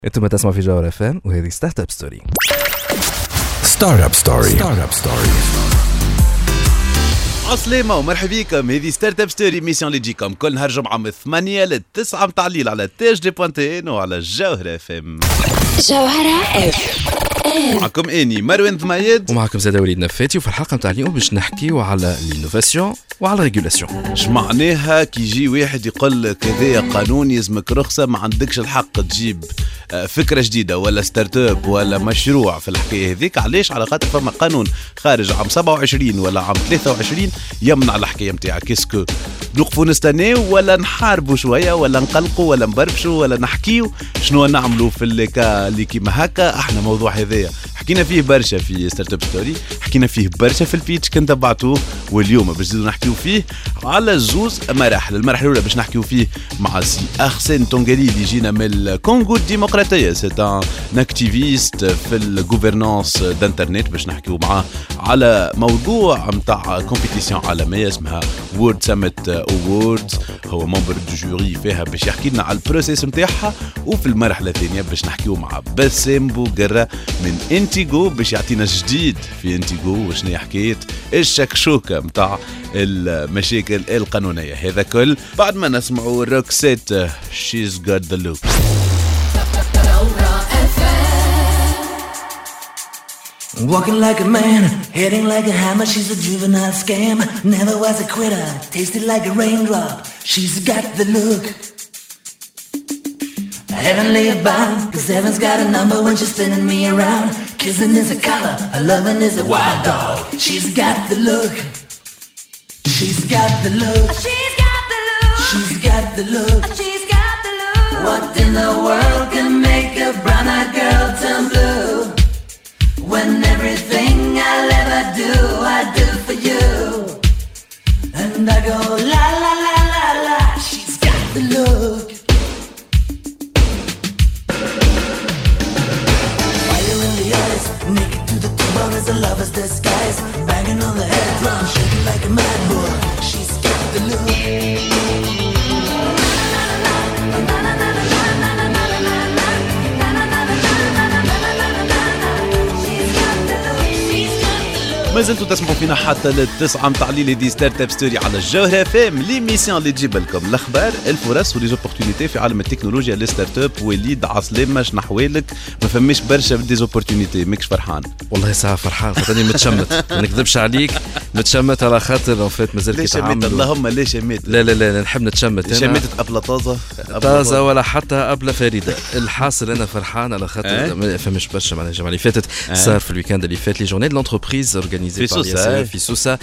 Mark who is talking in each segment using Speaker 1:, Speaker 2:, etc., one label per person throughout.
Speaker 1: انتم تسمعوا في جوهر اف ام وهذه ستارت اب ستوري.
Speaker 2: ستارت اب ستوري
Speaker 3: عسلامة ومرحبا بكم. هذه ستارت اب ستوري ميسيون اللي تجيكم كل نهار جمعة من 8 ل 9 متاع الليل على تاج دي بوانتين وعلى جوهر اف ام.
Speaker 4: جوهرة اف
Speaker 3: معكم اني مروان ضمايد
Speaker 1: ومعكم زاد وليد نفاتي، وفي الحلقة متاع اليوم باش نحكيو على الانوفاسيون وعلى الريغولاسيون.
Speaker 3: اش معناها كي يجي واحد يقول لك هذايا قانون يلزمك رخصة، ما عندكش الحق تجيب فكرة جديدة ولا ستارت اب ولا مشروع في الحكاية هذيك. علاش؟ على خاطر فما قانون خارج عام 27 ولا عام 23 يمنع الحكاية متاعك. كيسكو نوقفوا نستناو ولا نحاربوا شوية ولا نقلقوا ولا نبربشوا ولا نحكيو شنو نعملوا في اللي كيما هكا؟ احنا موضوع هذايا حكينا فيه برشا في ستارت اب ستوري، حكينا فيه برشا في البيتش كنت تبعتوه، واليوم باش نزيدو نحكيو فيه على زوز مراحل. المرحله الاولى باش نحكيو فيه مع سي أرسين تونغالي اللي جينا من الكونغو الديمقراطيه، سي ان اكتيفيست في الجوفرنانس دانترنت. باش نحكيو معاه على موضوع نتاع كومبيتيسيون عالميه اسمها وورد ساميت اووردز، هو ممبر دو جوري فيها باش يحكي لنا على البروسيس نتاعها. وفي المرحله الثانيه باش نحكيو مع باسم بوغرة من انتيغو باش يعطينا جديد في انتيغو وشنو حكايه الشكشوكه نتاع المشاكل القانونيه. هذا كل بعد ما نسمعوا روكسيت She's Got The Look.
Speaker 5: Walking like a man, hitting like a hammer. She's a juvenile scam, never was a quitter. Tasted like a raindrop, she's got the look. Heavenly abound, cause heaven's got a number when she's spinning me around. Kissing is a color, her loving is a wild dog. She's got the look. She's got the look.
Speaker 4: She's got the look.
Speaker 5: She's got the look.
Speaker 4: She's got the look.
Speaker 5: What in the world can make a brown-eyed girl turn blue? When everything I'll ever do, I do for you. And I go la la la la la. She's got the look. Fire in the eyes, naked to the bone as a lover's disguise. Banging on the head drum, shaking like a mad bull. She's got the look.
Speaker 3: ما زلتوا تسمعوا فينا حتى للتسعة متاع الليل دي ستارت اب ستوري على الجوهرة فام، ليميسيون اللي تجيب لكم الاخبار الفرص وليزوبورتونيتي في عالم التكنولوجيا للستارت اب. وليد عسلامة شنو احوالك؟ ما فماش برشا ديزوبورتونيتي، ماكش فرحان؟
Speaker 1: والله ساعة فرحان خاطرني متشمت، ما نكذبش عليك، متشمت على خاطر فات مازال كيتعاملوا.
Speaker 3: اللهم لا شميت.
Speaker 1: لا نحب نتشمت.
Speaker 3: شميتت ابله
Speaker 1: طازه ولا حتى ابله فريده. الحاصل انا فرحان على خاطر ما فماش برشا معناها الجمعه اللي فاتت صار في الويكاند اللي فات لي جورني دو لونتربريز اورغانيزي في سوسه.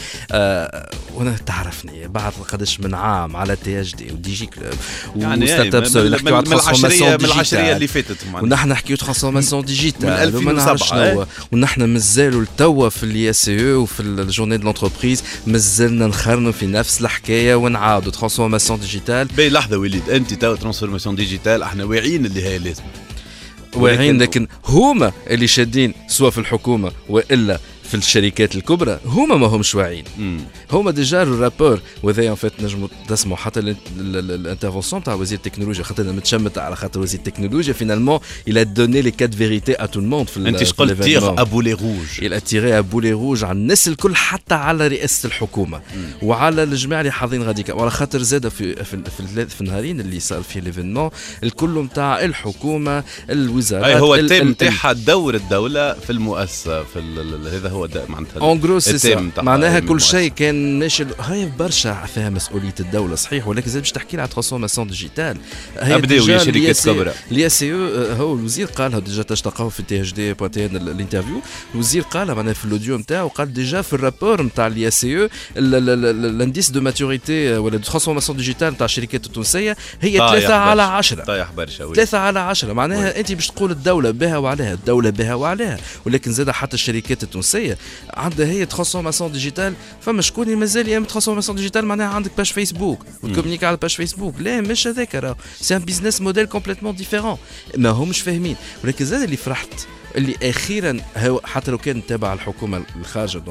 Speaker 1: وانا تعرفني بعد قداش من عام على تي اش دي ودي جي كلوب وستارت اب ستوري نحكيو على ترانسفورماسيون
Speaker 3: من العشريه اللي فاتت
Speaker 1: ونحن نحكيو ترانسفورماسيون ديجيتال
Speaker 3: من 2007
Speaker 1: ونحن مازالوا لتوا في الاي اس او وفي الجورني دو لونتربريز مازلنا نخرنوا في نفس الحكايه ونعاودوا ترانسفورماسيون ديجيتال.
Speaker 3: باهي لحظه وليد، انت تو ترانسفورماسيون ديجيتال احنا واعيين اللي هي لازم
Speaker 1: واعيين، لكن هما اللي شادين سواء في الحكومه والا في الشركات الكبرى هما ما همش واعيين. هما ديجا الرابور وذا فات نجموا تسمعوا حتى الانترفونسيون تاع وزير التكنولوجيا، خاطر متشمت على خاطر وزير التكنولوجيا فينالمون il a donné les 4 vérités à tout le monde.
Speaker 3: انت شقول تيغ ابو لي روج،
Speaker 1: il a tiré ابو لي روج على الناس الكل حتى على رئاسه الحكومه وعلى الجماعه اللي حاضرين غاديكا. وعلى خاطر زاد في النهارين اللي صار فيه ليفينمون الكل نتاع الحكومه الوزارات.
Speaker 3: هو التيم تاعها دور الدوله في المؤسسه في هذا هو معناتها
Speaker 1: اون جرو معناها كل شيء كان ماشي. هاي برشا فيها مسؤوليه الدوله صحيح، ولكن زاد باش تحكي لي على ترانسفورماسيون ديجيتال.
Speaker 3: ابداو يا شركات كبرى.
Speaker 1: لي سي او هو الوزير قالها ديجا تلقاوه في تي اتش دي بوانتين الانترفيو. الوزير قالها معناها في الاوديو نتاعو، قال ديجا في الرابور نتاع لي سي او الانديس دو ماتوريتي ولا دو ترانسفورماسيون ديجيتال نتاع الشركات التونسيه هي 3/10.
Speaker 3: طايح برشا
Speaker 1: 3/10 معناها انت باش تقول الدوله بها وعليها، الدوله بها وعليها، ولكن زاد حتى الشركات التونسيه عندها هي ترانسفورماسيون ديجيتال. فما شكون مازال يعمل ترانسفورماسيون ديجيتال معناها عندك باج فيسبوك وتكومونيكي على باج فيسبوك. لا مش هذاك، راه سي ان بيزنس موديل كومبليتمون ديفيرون، ما همش فاهمين. ولكن زاد اللي فرحت اللي اخيرا حتى لو كان تابع الحكومه الخارجه دونك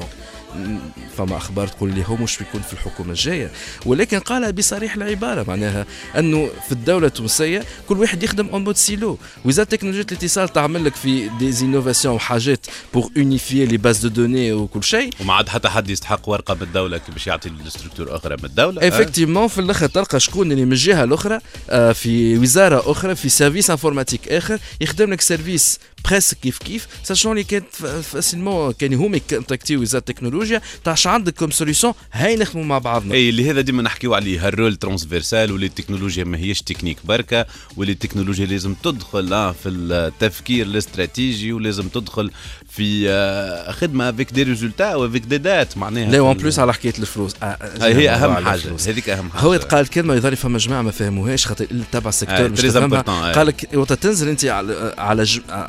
Speaker 1: فما اخبار تقول لي هو مش بيكون في الحكومه الجايه، ولكن قالها بصريح العباره، معناها انه في الدوله التونسيه كل واحد يخدم اون مود سيلو. وزاره تكنولوجيا الاتصال تعمل لك في دي انوفاسيون وحاجات بور اونيفيي لي باز دو دوني وكل شيء،
Speaker 3: وما عاد حتى حد يستحق ورقه من الدوله باش يعطي لستركتور اخرى من الدوله.
Speaker 1: ايفيكتيفمون في الاخر تلقى شكون اللي من الجهه الاخرى في وزاره اخرى في سيرفيس انفورماتيك اخر يخدم لك سيرفيس بريس كيف ساشون اللي كانت فاسيلمون كان هما يكونتاكتيو وزاره التكنولوجيا تاعش عندك كوم سوليوشن هاي نخدموا مع بعضنا.
Speaker 3: اي اللي هذا ديما نحكيو عليه الرول ترانسفيرسال، واللي التكنولوجيا ما هيش تكنيك بركه، واللي التكنولوجيا لازم تدخل في التفكير الاستراتيجي، ولازم تدخل في خدمه افيك دي ريزولتا وافيك دي دات معناها.
Speaker 1: لا وان بلوس على حكايه الفلوس
Speaker 3: هي اهم حاجه، هذيك اهم حاجه.
Speaker 1: هو قال كلمه يظهر فما جماعه ما فهموهاش خاطر اللي تبع السيكتور مش فاهمها. قال لك وقت تنزل انت على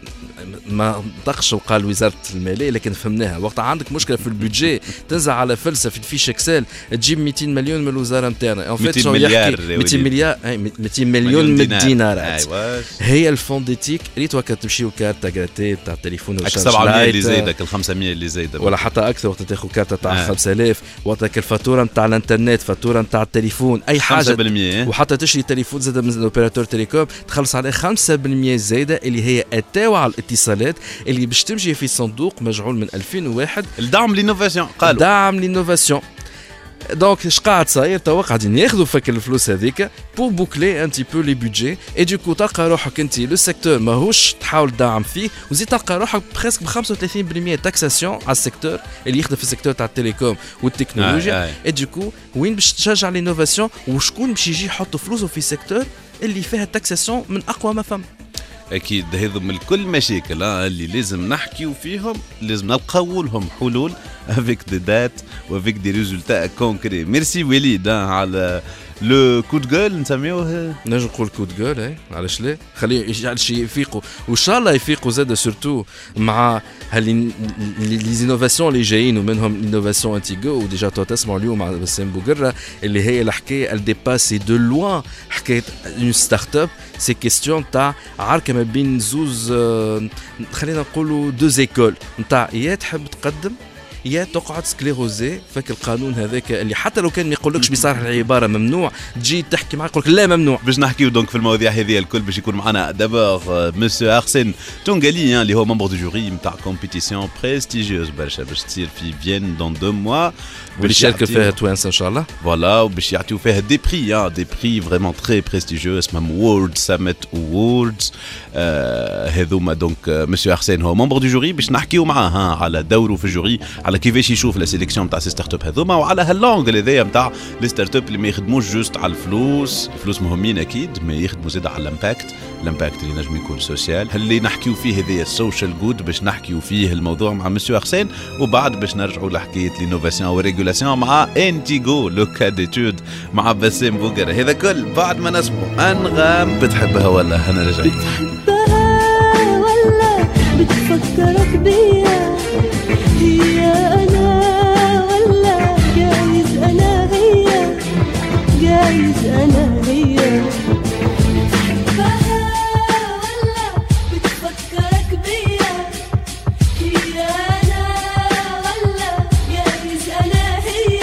Speaker 1: ما نطقش وقال وزاره الماليه لكن فهمناها، وقت عندك مشكله في البودجي تنزل على فلسفه في الفيش اكسل تجيب 200 مليون من الوزاره نتاعنا،
Speaker 3: 200 مليار
Speaker 1: 200 مليار 200 مليون من الدينارات. هي الفونديتيك ريت وقت تمشيو كارتا غراتي تاع التليفون
Speaker 3: ولا 700 اللي زايدك ال 500 اللي زايده
Speaker 1: ولا حتى اكثر، وقت تاخذ كارتا تاع 5000 وقتك الفاتوره نتاع الانترنت، فاتوره نتاع التليفون، اي حاجه
Speaker 3: 5%.
Speaker 1: وحتى تشري تليفون زاد من الاوبيراتور تيليكوم تخلص عليه 5% زايده اللي هي اتاو على الاتصالات اللي باش تمشي في صندوق مجعول من 2001
Speaker 3: الدعم للانوفاسيون. قالوا
Speaker 1: دعم للانوفاسيون. دونك اش قاعد صاير توا قاعدين ياخذوا فك الفلوس هذيك بور بوكلي ان تي بو لي بودجي اي دوكو تلقى روحك انت لو سيكتور ماهوش تحاول تدعم فيه، وزيد تلقى روحك بريسك ب 35% تاكساسيون على السيكتور اللي يخدم في السيكتور تاع التليكوم والتكنولوجيا. اي دوكو وين باش تشجع لينوفاسيون وشكون باش يجي يحط فلوسه في سيكتور اللي فيها تاكساسيون من اقوى ما فهم.
Speaker 3: اكيد هذو من كل مشاكل اللي لازم نحكيو فيهم، لازم نلقاو لهم حلول افيك دي دات وافيك دي ريزولتا كونكري. ميرسي وليد على لو كود جول نسميوه،
Speaker 1: نجم نقول كود جول اي علاش لا، خليه يجعل شي يفيقوا وان شاء الله يفيقوا زاد سورتو مع لي زينوفاسيون اللي جايين، ومنهم الانوفاسيون انتيغو وديجا تو تسمعوا اليوم مع بسام بوقره اللي هي الحكايه الديباسي دو لوان حكايه اون ستارت اب. سي كيستيون تاع عركه ما بين زوز خلينا نقولوا دو زيكول نتاع يا تحب تقدم يا تقعد سكليروزي. فك القانون هذاك اللي حتى لو كان ما يقولكش بصراحه العباره ممنوع تجي تحكي معاه يقولك لا ممنوع.
Speaker 3: باش نحكيو دونك في المواضيع هذه الكل باش يكون معنا دابور مسيو ارسين تونغالي اللي هو ممبر دو جوري نتاع كومبيتيسيون بريستيجيوز برشا باش تصير في فيين دون 2 موا
Speaker 1: باش يشارك فيها توانسه ان شاء الله.
Speaker 3: فوالا وباش يعطيو فيها دي بري دي بري فريمون تري بريستيجيوز اسمهم وورد ساميت ووردز. هذوما دونك مسيو ارسين هو ممبر دو جوري باش نحكيو معاه على دوره في الجوري، على كيفاش يشوف لا سيليكسيون نتاع سي ستارت اب هذوما، وعلى هاللونغ هذايا نتاع لي ستارت اب اللي ما يخدموش جوست على الفلوس. الفلوس مهمين اكيد، ما يخدموا زيد على الامباكت اللي نجم يكون سوسيال. اللي نحكيو فيه هذايا السوشيال جود باش نحكيو فيه الموضوع مع مسيو ارسين، وبعد باش نرجعوا لحكايه لينوفاسيون وريغولاسيون مع انتيغو لو كا ديتود مع بسام بوقره. هذا كل بعد ما نسمعوا انغام بتحبها ولا انا رجعت
Speaker 2: بتحبها ولا بتفكرك بيا، هي أنا ولا جايز أنا هي، جايز أنا هي. بتحبها ولا بتفكرك بيا، هي أنا ولا جايز أنا هي،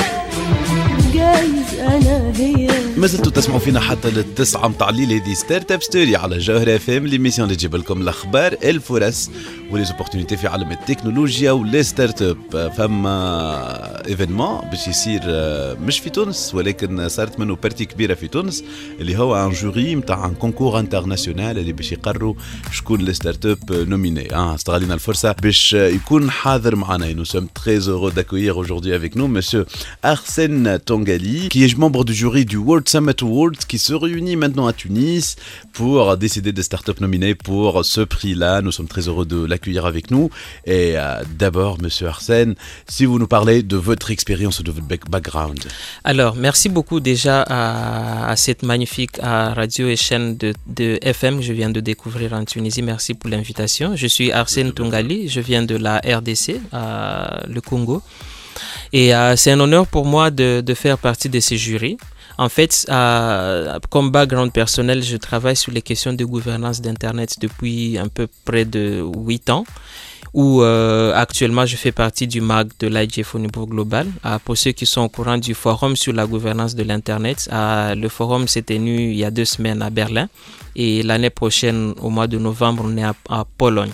Speaker 2: جايز أنا هي.
Speaker 3: ما زلتوا تسمعوا فينا حتى للتسعة متاع الليل. هذه ستارت اب ستوري على جوهر اف ام، ليميسيون اللي تجيب لكم الاخبار الفرص وليزوبورتينيتي في عالم التكنولوجيا ولي ستارت اب. فما ايفينمون باش يصير مش في تونس ولكن صارت منه بارتي كبيره في تونس، اللي هو ان جوري نتاع ان كونكور انترناسيونال اللي باش يقرروا شكون لي ستارت اب نوميني. استغلينا الفرصه باش يكون حاضر معنا. Nous sommes très heureux d'accueillir aujourd'hui avec nous monsieur Arsène Tongali, qui est membre du jury du World Summit Awards, qui se réunit maintenant à Tunis pour décider des startups nominées pour ce prix-là. Nous sommes très heureux de l'accueillir avec nous. Et d'abord, monsieur Arsène, si vous nous parlez de votre expérience, de votre background.
Speaker 6: Alors, merci beaucoup déjà à cette magnifique radio et chaîne de FM que je viens de découvrir en Tunisie. Merci pour l'invitation. Je suis Arsène Tongali, je viens de la RDC, le Congo. Et c'est un honneur pour moi de faire partie de ces jurys. En fait, comme background personnel, je travaille sur les questions de gouvernance d'Internet depuis à peu près de 8 ans, où actuellement je fais partie du MAG de l'IGF au niveau global. Pour ceux qui sont au courant du forum sur la gouvernance de l'Internet, le forum s'est tenu il y a 2 semaines à Berlin. Et l'année prochaine, au mois de novembre, on est en Pologne.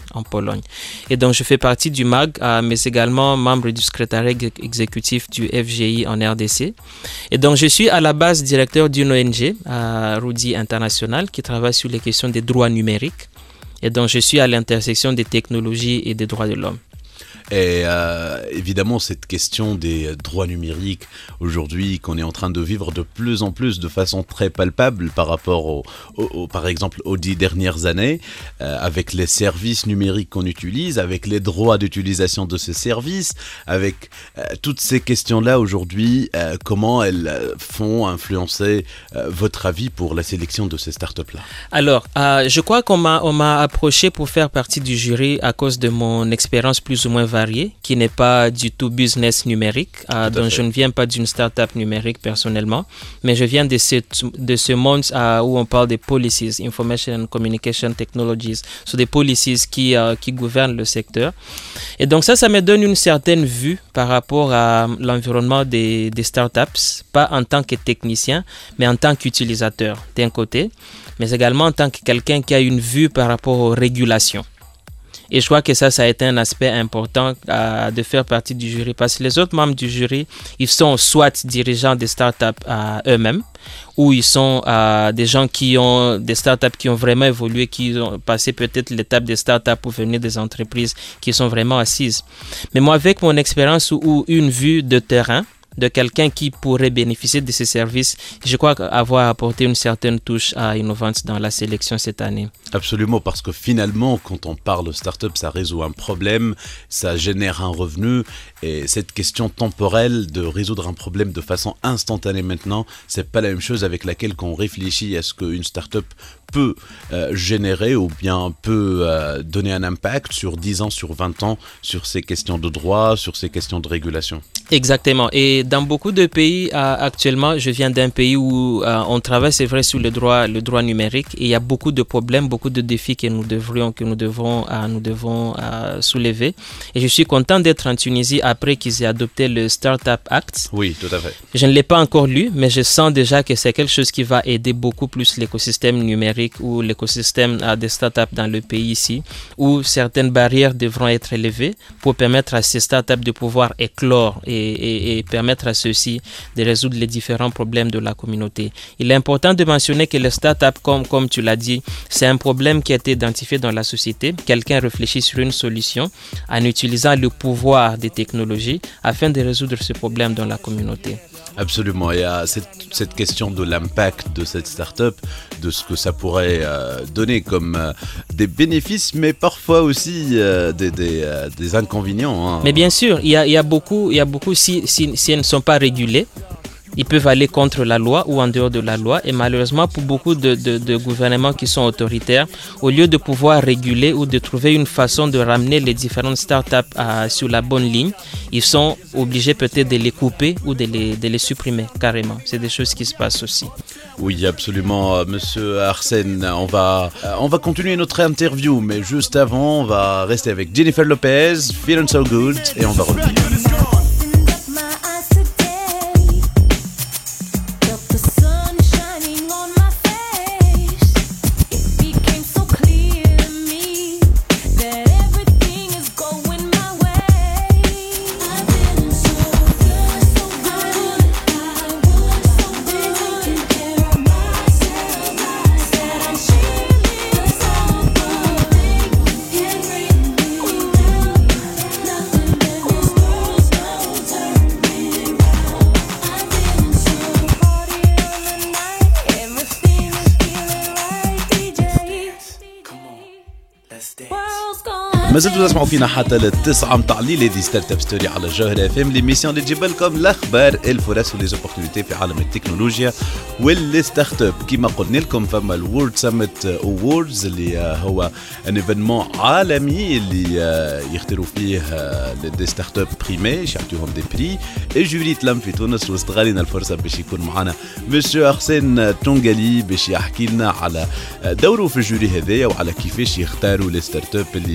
Speaker 6: Et donc, je fais partie du MAG, mais également membre du secrétariat exécutif du FGI en RDC. Et donc, je suis à la base directeur d'une ONG, Rudy International, qui travaille sur les questions des droits numériques. Et donc, je suis à l'intersection des technologies et des droits de l'homme.
Speaker 3: Et évidemment, cette question des droits numériques, aujourd'hui, qu'on est en train de vivre de plus en plus de façon très palpable par rapport, par exemple, aux 10 dernières années, avec les services numériques qu'on utilise, avec les droits d'utilisation de ces services, avec toutes ces questions-là aujourd'hui, comment elles font influencer votre avis pour la sélection de ces startups-là? Alors,
Speaker 6: je crois qu'on m'a approché pour faire partie du jury à cause de mon expérience plus ou moins variée, qui n'est pas du tout business numérique. Donc je ne viens pas d'une start-up numérique personnellement, mais je viens de ce monde où on parle des policies, Information and Communication Technologies, sur des policies qui gouvernent le secteur. Et donc ça me donne une certaine vue par rapport à l'environnement des startups, pas en tant que technicien, mais en tant qu'utilisateur d'un côté, mais également en tant que quelqu'un qui a une vue par rapport aux régulations. Et je crois que ça a été un aspect important de faire partie du jury, parce que les autres membres du jury, ils sont soit dirigeants des startups eux-mêmes, ou ils sont des gens qui ont des startups qui ont vraiment évolué, qui ont passé peut-être l'étape des startups pour venir des entreprises qui sont vraiment assises. Mais moi, avec mon expérience ou une vue de terrain, de quelqu'un qui pourrait bénéficier de ces services, je crois avoir apporté une certaine touche innovante dans la sélection cette année.
Speaker 3: Absolument, parce que finalement, quand on parle de start-up, ça résout un problème, ça génère un revenu, et cette question temporelle de résoudre un problème de façon instantanée maintenant, c'est pas la même chose avec laquelle qu'on réfléchit à ce qu'une start-up peut générer ou bien peut donner un impact sur 10 ans, sur 20 ans, sur ces questions de droit, sur ces questions de régulation.
Speaker 6: Exactement. Et dans beaucoup de pays, actuellement, je viens d'un pays où on travaille, c'est vrai, sur le droit numérique, et il y a beaucoup de problèmes, beaucoup de défis que nous devons soulever. Et je suis content d'être en Tunisie après qu'ils aient adopté le Startup Act.
Speaker 3: Oui, tout à fait.
Speaker 6: Je ne l'ai pas encore lu, mais je sens déjà que c'est quelque chose qui va aider beaucoup plus l'écosystème numérique ou l'écosystème des startups dans le pays ici, où certaines barrières devront être élevées pour permettre à ces startups de pouvoir éclore et permettre à ceux-ci de résoudre les différents problèmes de la communauté. Il est important de mentionner que les startups, comme tu l'as dit, c'est un problème qui a été identifié dans la société. Quelqu'un réfléchit sur une solution en utilisant le pouvoir des technologies afin de résoudre ce problème dans la communauté.
Speaker 3: Absolument, il y a cette question de l'impact de cette start-up, de ce que ça pourrait donner comme des bénéfices, mais parfois aussi des inconvénients. Hein.
Speaker 6: Mais bien sûr, il y a beaucoup si elles ne sont pas régulées, ils peuvent aller contre la loi ou en dehors de la loi. Et malheureusement, pour beaucoup de gouvernements qui sont autoritaires, au lieu de pouvoir réguler ou de trouver une façon de ramener les différentes startups sur la bonne ligne, ils sont obligés peut-être de les couper ou de les supprimer carrément. C'est des choses qui se passent aussi.
Speaker 3: Oui, absolument, Monsieur Arsène. On va continuer notre interview, mais juste avant, on va rester avec Jennifer Lopez, Feeling So Good, et on va revenir. ما زلتوا تسمعوا فينا حتى للتسعة متاع الليل. هذه ستارت اب ستوري على الجوهرة اف ام، ليميسيون اللي تجيب لكم الاخبار، الفرص وليزوبورتينيتي في عالم التكنولوجيا والستارت اب. كما قلنا لكم فما الورد سمت اووردز اللي هو ان ايفينمون عالمي اللي يختاروا فيه دي ستارت اب بريمي، يعطيوهم دي بري. الجوري تلم في تونس واستغلينا الفرصة باش يكون معنا مسيو أرسين تونغالي باش يحكي لنا على دوره في الجوري هذايا وعلى كيفاش يختاروا لي ستارت اب اللي باش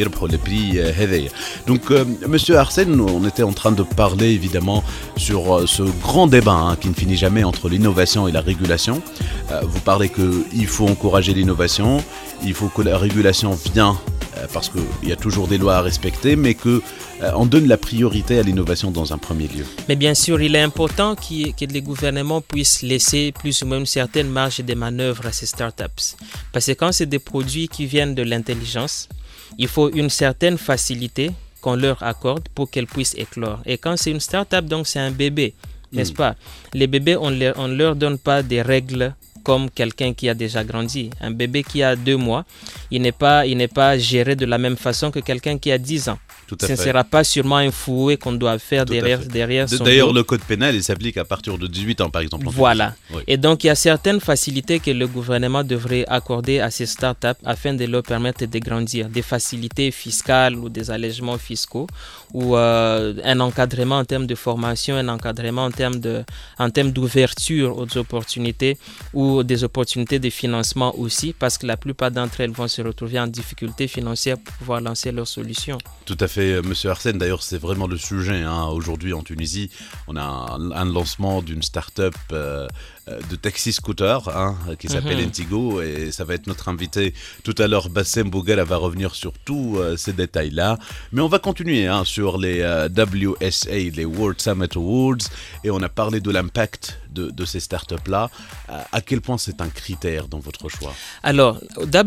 Speaker 3: يربحوا le prix هذايا. Donc monsieur Arsène, on était en train de parler évidemment sur ce grand débat qui ne finit jamais entre l'innovation et la régulation. Vous parlez qu'il faut encourager l'innovation, il faut que la régulation vienne parce qu'il y a toujours des lois à respecter, mais qu'on donne la priorité à l'innovation dans un premier lieu.
Speaker 6: Mais bien sûr, il est important que les gouvernements puissent laisser plus ou moins une certaine marge de manœuvre à ces startups. Parce que quand c'est des produits qui viennent de l'intelligence, il faut une certaine facilité qu'on leur accorde pour qu'elles puissent éclore. Et quand c'est une startup, donc c'est un bébé, n'est-ce pas? Les bébés, on ne leur donne pas des règles comme quelqu'un qui a déjà grandi. Un bébé qui a 2 mois, il n'est pas géré de la même façon que quelqu'un qui a 10 ans. Ce ne sera pas sûrement un fouet qu'on doit faire derrière son
Speaker 3: D'ailleurs,
Speaker 6: dos.
Speaker 3: le code pénal, il s'applique à partir de 18 ans, par exemple.
Speaker 6: Voilà.
Speaker 3: Oui.
Speaker 6: Et donc, il y a certaines facilités que le gouvernement devrait accorder à ces startups afin de leur permettre de grandir. Des facilités fiscales ou des allègements fiscaux ou un encadrement en termes de formation, un encadrement en termes d'ouverture aux opportunités ou des opportunités de financement aussi, parce que la plupart d'entre elles vont se retrouver en difficulté financière pour pouvoir lancer leurs solutions.
Speaker 3: Tout à fait, monsieur Arsène. D'ailleurs, c'est vraiment le sujet. Aujourd'hui, en Tunisie, on a un lancement d'une start-up de taxi-scooter qui s'appelle Intigo, et ça va être notre invité tout à l'heure. Bassem Bouguera va revenir sur tous ces détails-là. Mais on va continuer sur les WSA, les World Summit Awards, et on a parlé de l'impact de ces startups-là. À quel point c'est un critère dans votre choix?
Speaker 6: Alors,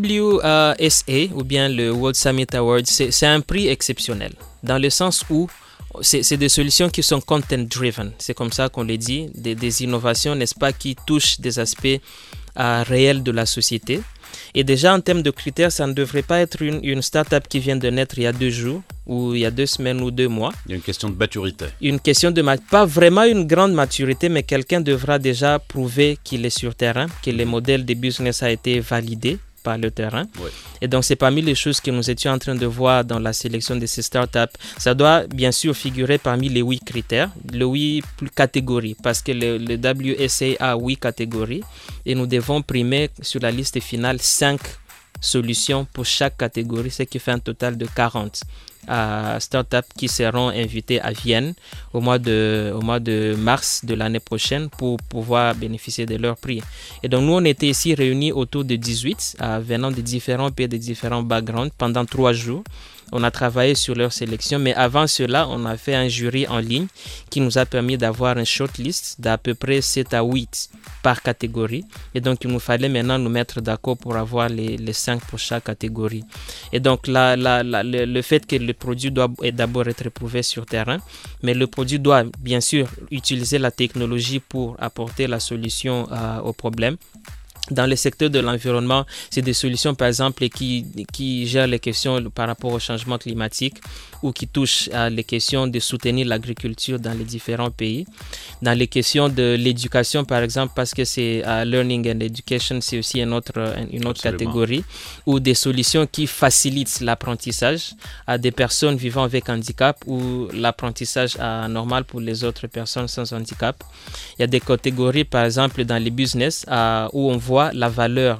Speaker 6: WSA, ou bien le World Summit Awards, c'est un prix exceptionnel, dans le sens où c'est des solutions qui sont content-driven. C'est comme ça qu'on les dit, des innovations, n'est-ce pas, qui touchent des aspects réels de la société. Et déjà, en termes de critères, ça ne devrait pas être une start-up qui vient de naître il y a 2 jours, ou il y a 2 semaines ou 2 mois.
Speaker 3: Il y a une question de maturité.
Speaker 6: Une question de pas vraiment une grande maturité, mais quelqu'un devra déjà prouver qu'il est sur terrain, que le modèle de business a été validé par le terrain.
Speaker 3: Ouais.
Speaker 6: Et donc, c'est parmi les choses que nous étions en train de voir dans la sélection de ces startups. Ça doit bien sûr figurer parmi les 8 critères, les 8 catégories, parce que le WSA a 8 catégories et nous devons primer sur la liste finale 5 solutions pour chaque catégorie, ce qui fait un total de 40 startups qui seront invitées à Vienne au mois de mars de l'année prochaine pour pouvoir bénéficier de leur prix. Et donc nous, on était ici réunis autour de 18 venant de différents pays, de différents backgrounds pendant 3 jours. On a travaillé sur leur sélection, mais avant cela, on a fait un jury en ligne qui nous a permis d'avoir une shortlist d'à peu près 7 à 8 par catégorie. Et donc, il nous fallait maintenant nous mettre d'accord pour avoir les 5 pour chaque catégorie. Et donc, le fait que le produit doit d'abord être éprouvé sur terrain, mais le produit doit bien sûr utiliser la technologie pour apporter la solution au problème. Dans le secteur de l'environnement, c'est des solutions par exemple qui gèrent les questions par rapport au changement climatique ou qui touchent à les questions de soutenir l'agriculture dans les différents pays. Dans les questions de l'éducation par exemple, parce que c'est Learning and Education, c'est aussi une autre catégorie, ou des solutions qui facilitent l'apprentissage à des personnes vivant avec handicap ou l'apprentissage normal pour les autres personnes sans handicap. Il y a des catégories par exemple dans les business où on voit la valeur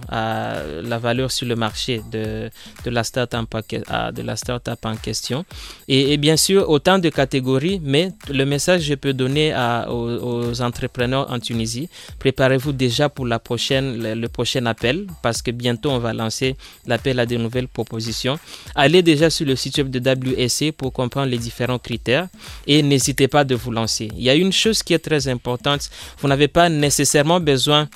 Speaker 6: sur le marché de la start-up en question. Et bien sûr, autant de catégories, mais le message que je peux donner aux entrepreneurs en Tunisie, préparez-vous déjà pour le prochain appel, parce que bientôt on va lancer l'appel à de nouvelles propositions. Allez déjà sur le site web de WSA pour comprendre les différents critères et n'hésitez pas de vous lancer. Il y a une chose qui est très importante, vous n'avez pas nécessairement besoin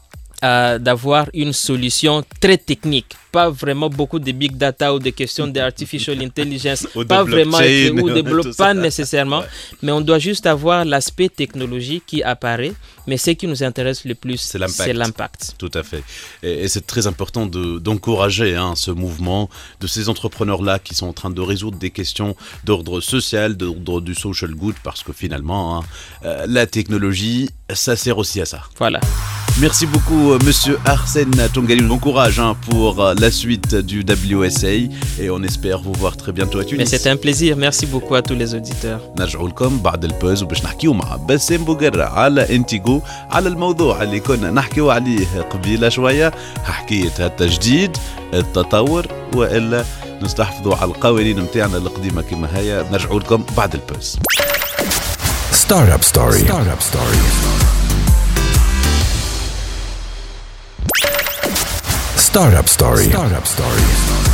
Speaker 6: d'avoir une solution très technique, pas vraiment beaucoup de big data ou de questions d'artificial intelligence, pas vraiment ou de pas nécessairement, mais on doit juste avoir l'aspect technologique qui apparaît, mais ce qui nous intéresse le plus, c'est l'impact.
Speaker 3: Tout à fait. Et c'est très important d'encourager ce mouvement de ces entrepreneurs-là qui sont en train de résoudre des questions d'ordre social, d'ordre du social good, parce que finalement, la technologie, ça sert aussi à ça.
Speaker 6: Voilà.
Speaker 3: Merci beaucoup, monsieur Arsène Toungali. Bon courage pour la suite du WSA et on espère vous voir très bientôt à Tunis.
Speaker 6: Mais c'est un plaisir. Merci beaucoup à tous les auditeurs.
Speaker 3: نرجعوا لكم بعد البوز وباش نحكيو مع باسم بوغرة على انتيغو على الموضوع اللي كنا نحكيو عليه قبيله شويه، حكايه التجديد، التطور والا نستحفظوا على القوانين متاعنا القديمة كما هي. نرجعوا لكم بعد البوز.
Speaker 7: Startup Story. Startup Story. Startup Story. Startup Story.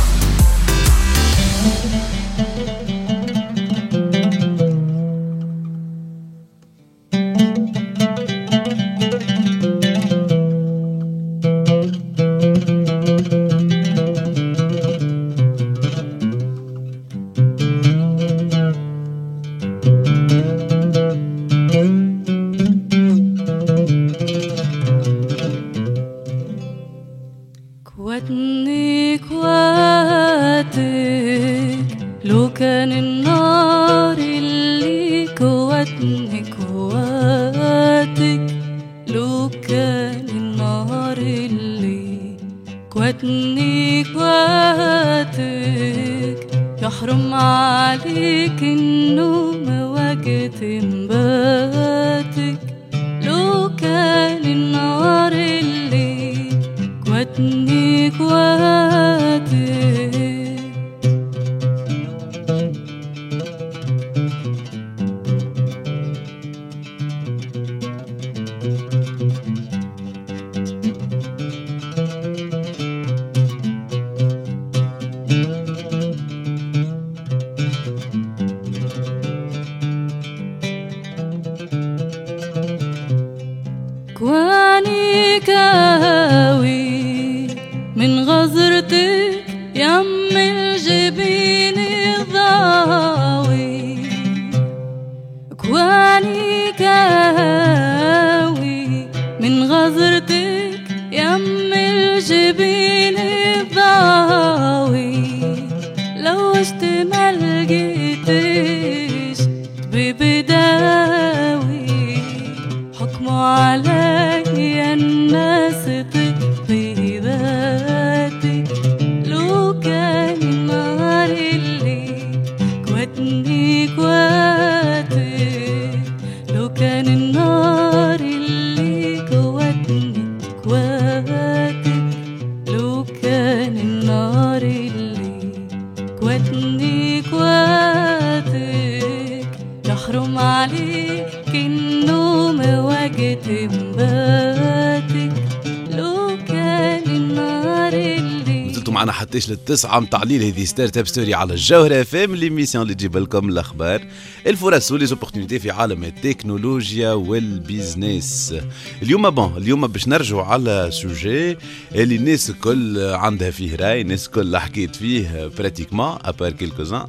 Speaker 3: معنا حتىش للتسعة متعليل هذه ستارت اب ستوري على الجوهرة FM ليميسيون اللي تجيب لكم الأخبار الفرص وليزوبورتينيتي في عالم التكنولوجيا والبيزنس. اليوم باش نرجعوا على سوجي اللي الناس الكل عندها فيه راي، الناس الكل حكيت فيه براتيكمون ابار كيلكوزان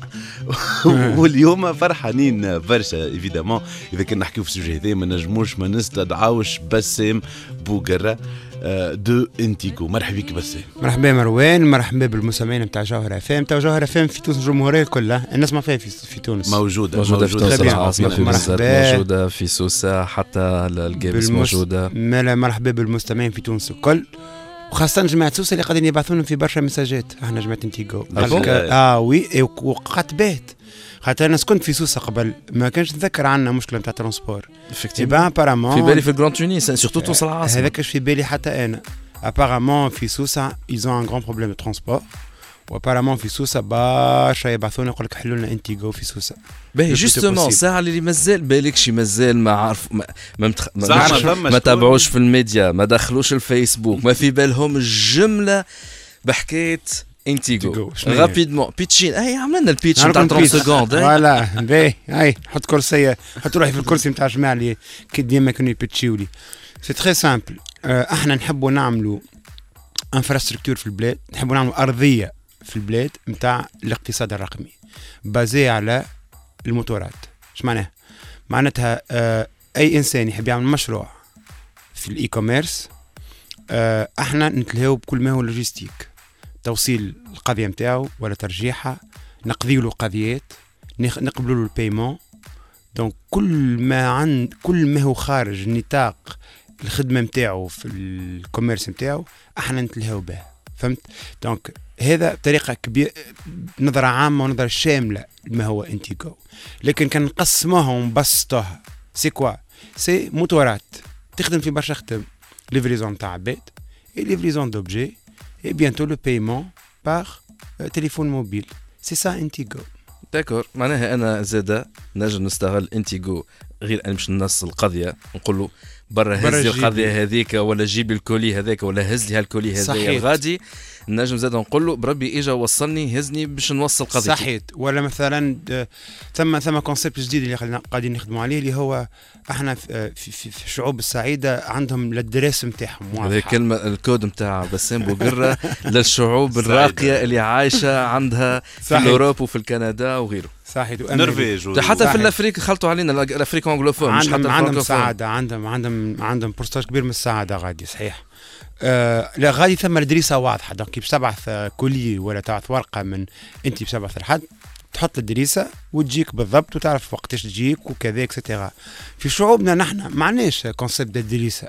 Speaker 3: واليوم فرحانين برشا ايفيدامون. اذا كنا نحكيو في السوجي هذا ما نجموش ما نستدعوش بسام بوغرة دو انتيغو. مرحبا بك بسام.
Speaker 8: مرحبا مروان، مرحبا بالمستمعين نتاع جوهرة FM. تاع جوهرة FM في تونس الجمهورية كلها الناس ما فيها في تونس
Speaker 1: موجودة في تونس العاصمة، في بزاف موجودة في سوسة، حتى الجيبس موجودة.
Speaker 8: مرحبا بالمستمعين في تونس الكل، وخاصة جماعة سوسة اللي قاعدين يبعثون في برشا مساجات. احنا جماعة انتيغو وي وقعت بيت خاطر انا كنت في سوسة قبل ما كانش نتذكر عنا مشكلة نتاع ترونسبور
Speaker 1: في بالي في الجراند تونس سورتو تونس العاصمة.
Speaker 8: هذاك في بالي حتى انا. ابارامون في سوسة ils ont un grand problème de transport، وابارامون في سوسة برشا يبعثونا يقول لك حلوا لنا انتيغو في سوسة.
Speaker 1: باهي جوستومون ساعة اللي مازال بالكش مازال ما عارف ما تابعوش في الميديا، ما دخلوش الفيسبوك، ما في بالهم الجملة بحكاية انتيغو. رابيدمون بيتشين هاي عملنا البيتش نتاع 30 سكوند.
Speaker 8: فوالا باهي هاي حط كرسي، حط روحي في الكرسي نتاع الجماعة اللي كي ديما كانوا يبيتشيو لي. سي تري سامبل. احنا نحبوا نعملوا انفراستركتور في البلاد، نحبوا نعملوا ارضيه في البلاد نتاع الاقتصاد الرقمي بازي على الموتورات. اش معناها؟ معناتها اي انسان يحب يعمل مشروع في الاي كوميرس احنا نتلهاو بكل ما هو لوجيستيك، توصيل القضيه نتاعو ولا ترجيحها، نقضيو له قضيات، نقبلوا له البايمون. دونك كل ما هو خارج نطاق الخدمه نتاعو في الكوميرس نتاعو احنا نتلهاو به. فهمت؟ دونك هذا بطريقه كبيره، نظره عامه ونظره شامله ما هو انتيغو. لكن كان نقسموها ونبسطوها سي كوا؟ سي موتورات تخدم في برشا خدم، ليفريزون تاع عباد، اي ليفريزون دوبجي، اي بيانتو لو بايمون بار تليفون موبيل. سي سا انتيغو.
Speaker 1: داكور، معناها انا زاده نجم نستغل انتيغو غير ان مش نص القضيه نقول له برا هز لي القضيه هذيك، ولا جيب الكولي هذاك، ولا هز لي هالكولي هذايا الغادي. نجم زاد نقول له بربي اجا وصلني هزني باش نوصل قضيتي.
Speaker 8: صحيت. ولا مثلا ثم كونسيبت جديد اللي قاعدين نخدموا عليه، اللي هو احنا في الشعوب السعيده عندهم الدراسه نتاعهم.
Speaker 1: هذه الكلمه الكود نتاع بسام بوقره للشعوب الراقيه اللي عايشه عندها في اوروبا وفي الكندا وغيره.
Speaker 8: صحيح.
Speaker 3: نرويج
Speaker 1: حتى في الافريق خلطوا علينا الافريق انجلوفون، مش حتى
Speaker 8: عندهم سعاده، عندهم بورسنتاج كبير من السعاده غادي. صحيح. لا غادي ثم الدريسه واضحه. دونك باش تبعث كولي ولا تبعث ورقه من انت باش تبعث لحد، تحط الدريسه وتجيك بالضبط وتعرف وقتاش تجيك وكذا اكسترا. في شعوبنا نحن ما عندناش كونسيبت الدريسه،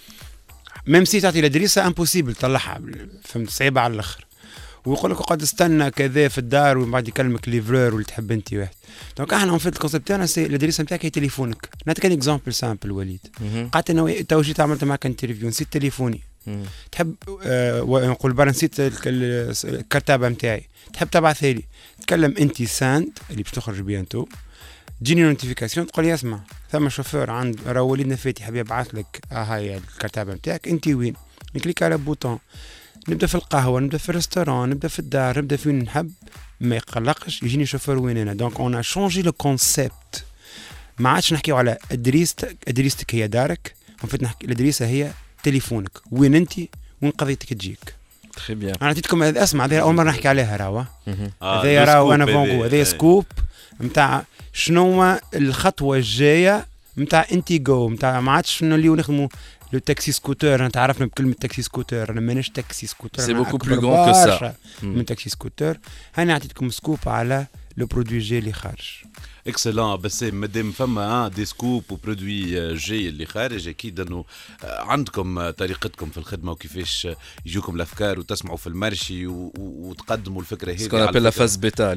Speaker 8: ميم سي تعطي الدريسه امبوسيبل تطلعها، فهمت، صعيبه على الاخر. ويقول لك اقعد استنى كذا في الدار ومن بعد يكلمك ليفرور واللي تحب انت واحد. دونك احنا في الكونسيبت تاعنا سي الادريس نتاعك هي تليفونك. نعطيك ان اكزامبل سامبل وليد. قعدت انا تو جيت عملت معك انترفيو، نسيت تليفوني. تحب نقول برا نسيت الكرتابه نتاعي، تحب تبعثها لي، تكلم انت ساند اللي باش تخرج بيانتو، تجيني نوتيفيكاسيون تقول لي اسمع ثم شوفور عند راه وليدنا فاتي حاب يبعث لك هاي الكرتابه نتاعك، انت وين؟ نكليك على بوطون، نبدا في القهوه، نبدا في الريستوران، نبدا في الدار، نبدا فين نحب، ما يقلقش يجيني شوفور وين انا. دونك اون شونجي لو كونسيبت، ما عادش نحكيو على ادريستك هي دارك، وفيت نحكي الادريسه هي تليفونك، وين انت وين قضيتك تجيك.
Speaker 1: تري بيان.
Speaker 8: انا عطيتكم اسمع، هذه اول مره نحكي عليها راهو. هذا راهو انا فونغو، هذا سكوب نتاع شنو الخطوه الجايه نتاع انتيغو، نتاع ما عادش نوليو نخدموا لو تاكسي سكوتر. انا تعرفنا بكلمه تاكسي سكوتر، انا مانيش تاكسي سكوتر،
Speaker 1: سي بوكو بلو غون كو سا
Speaker 8: من تاكسي سكوتر. هاني عطيتكم سكوب على لو برودوي جاي اللي خارج.
Speaker 3: اكسلون. بس مادام فما دي سكوب وبرودوي جاي اللي خارج، اكيد انه عندكم طريقتكم في الخدمه وكيفاش يجوكم الافكار وتسمعوا في المارشي وتقدموا الفكره هذه.
Speaker 1: سكون ابل لا فاز بيتا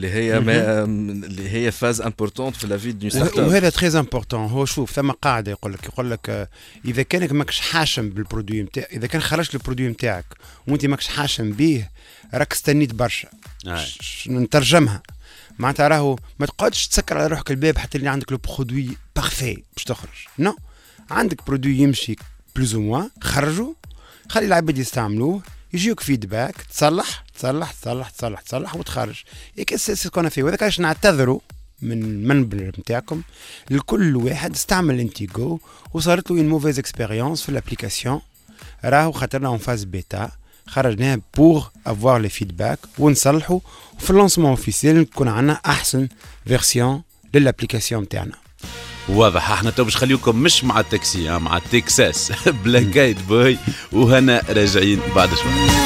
Speaker 1: اللي هي فاز امبورطونت في لا في دو ستارت اب.
Speaker 8: وهذا تري امبورطون. هو شوف ثم قاعده يقول لك اذا كانك ماكش حاشم بالبرودوي نتاعك، اذا كان خرجت البرودوي نتاعك وانت ماكش حاشم به، راك استنيت برشا. نترجمها معناتها راهو ما تقعدش تسكر على روحك الباب حتى اللي عندك لو برودوي بارفي باش تخرج. نو، عندك برودوي يمشي بلوز او موان، خرجوا، خلي العباد يستعملوه، يجيوك فيدباك، تصلح تصلح تصلح تصلح تصلح وتخرج. هيك سي كنا فيه. وهذا علاش نعتذروا من المنبر نتاعكم لكل واحد استعمل انتيغو وصارت له موفيز اكسبيريونس في الابليكاسيون. راهو خاطرنا اون فاز بيتا، خرجناها بور افوار لي فيدباك ونصلحوا، وفي اللونسمون اوفيسيال نكون عندنا احسن فيرسيون للابليكاسيون تاعنا.
Speaker 3: واضح. احنا تو باش خليوكم مش مع التاكسي، مع التكساس بلاك ايد بوي وهنا راجعين بعد شوي.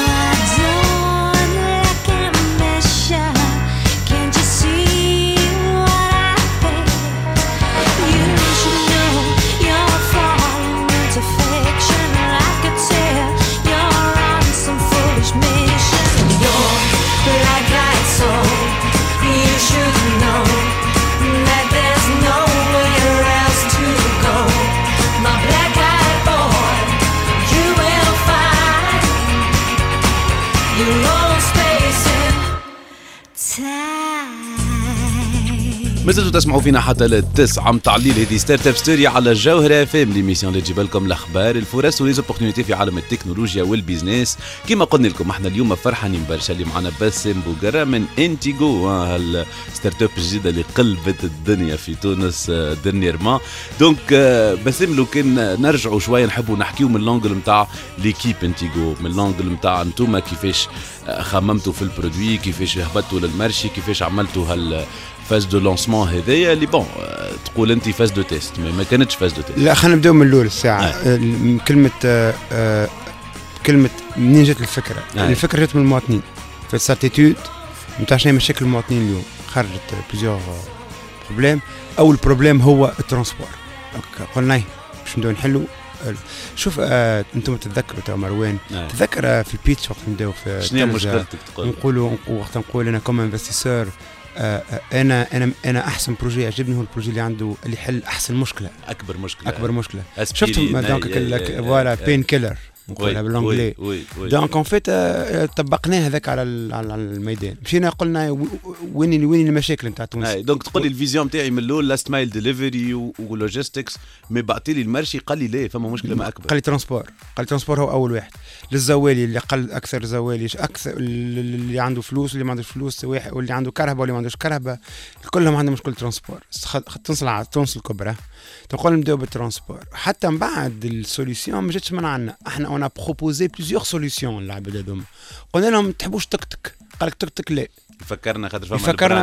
Speaker 3: مازلتوا تسمعوا فينا حتى للتسعة متاع الليل. هذه ستارت اب ستوري على الجوهرة فام، ليميسيون اللي تجيب لكم الاخبار، الفرص وليزوبورتينيتي في عالم التكنولوجيا والبيزنس. كما قلنا لكم احنا اليوم فرحانين برشا اللي معنا باسم بوقرة من انتيغو، هالستارت اب الجديدة اللي قلبت الدنيا في تونس ديرنييرمون. دونك باسم لو كان نرجعوا شوية نحبوا نحكيو من لونجل متاع ليكيب انتيغو، من لونجل متاع انتوما كيفاش خممتوا في البرودوي، كيفاش هبطوا للمارشي، كيفاش عملتوا فاز دو لونسمون هذايا اللي بون تقول انت فاز دو تيست ما كانتش فاز دو تيست.
Speaker 8: لا خلينا نبداو من الاول الساعه. كلمه منين جات الفكره؟ الفكره جات من المواطنين في الساتيتود نتاع شنو مشاكل المواطنين اليوم. خرجت بليزيور بروبليم. اول بروبليم هو الترونسبور. قلنا باش نبداو نحلوا. شوف انتم تتذكروا تو مروان تذكر في البيتش وقت نبداو في
Speaker 3: شنو مشكلتك تقول
Speaker 8: نقولوا وقت نقول انا كوم انفستيسور انا احسن بروجي عجبني هو البروجي اللي عنده اللي يحل احسن مشكله،
Speaker 3: اكبر مشكله
Speaker 8: شفت دونك فوالا بين كيلر نقولها بالانجلي. دونك اون فيت طبقناه هذاك على الميدان، مشينا قلنا وين المشاكل نتاع تونس.
Speaker 3: دونك تقول لي الفيزيون نتاعي من الاول لاست مايل ديليفري ولوجيستكس، مي بعطي لي المرشي قال لي لا فما مشكله ما اكبر.
Speaker 8: قال لي ترونسبور هو اول واحد. للزوالي اللي قل اكثر زوالي اكثر، اللي عنده فلوس واللي ما عندوش فلوس، واللي عنده كهرباء واللي ما عندوش كهرباء، كلهم عندهم مشكله ترونسبور. تنصلع تونس الكبرى تقول نبداو بالترونسبور. حتى من بعد السوليسيون ما جاتش من عندنا، احنا اون بروبوزي بليزيور سوليسيون للعباد هذوما. قلنا لهم تحبوش تكتك؟ قال لك تكتك لا.
Speaker 3: فكرنا خاطر
Speaker 8: فكرنا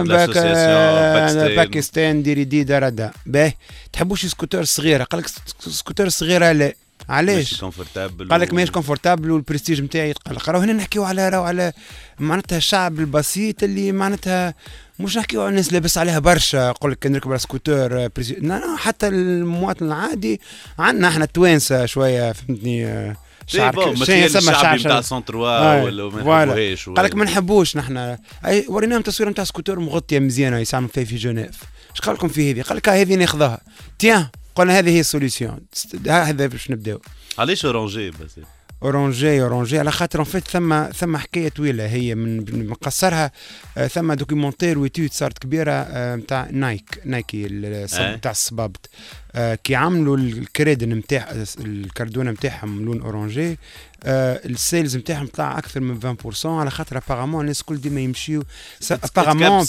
Speaker 8: باكستان ديري دي دردا باهي. تحبوش سكوتر صغيره؟ قال لك سكوتر صغيره لا. علاش؟ قال لك ماهيش كونفورتابل والبرستيج نتاعي يتقلق. راهو هنا نحكيو على معناتها الشعب البسيط اللي معناتها مش نحكيو على الناس لابس عليها برشا. يقول لك نركب على سكوتر حتى المواطن العادي عندنا احنا التوانسه شويه فهمتني.
Speaker 3: شعب الشعبي نتاع سونتروا ولا ما نحبوهاش.
Speaker 8: قال لك ما نحبوش نحن. اي وريناهم تصويره نتاع سكوتر مغطيه مزيانه يسموا فيها في جنيف. اش قال لكم في هذه؟ قال لك هذه ناخذها تيان. قلنا هذه هي السوليسيون، هذا باش نبداو.
Speaker 3: علاش اورانجي بس؟
Speaker 8: اورانجي على خاطر ان فيت ثم حكايه طويله هي من مقصرها. ثم دوكيومونتير ويتيود صارت كبيره نتاع نايكي نتاع الصبابط. كي عملوا الكريدن نتاع الكاردونه نتاعهم لون اورانجي، السيلز نتاعهم طلع اكثر من 20% على خاطر ابارامون الناس الكل ديما يمشيو ابارامون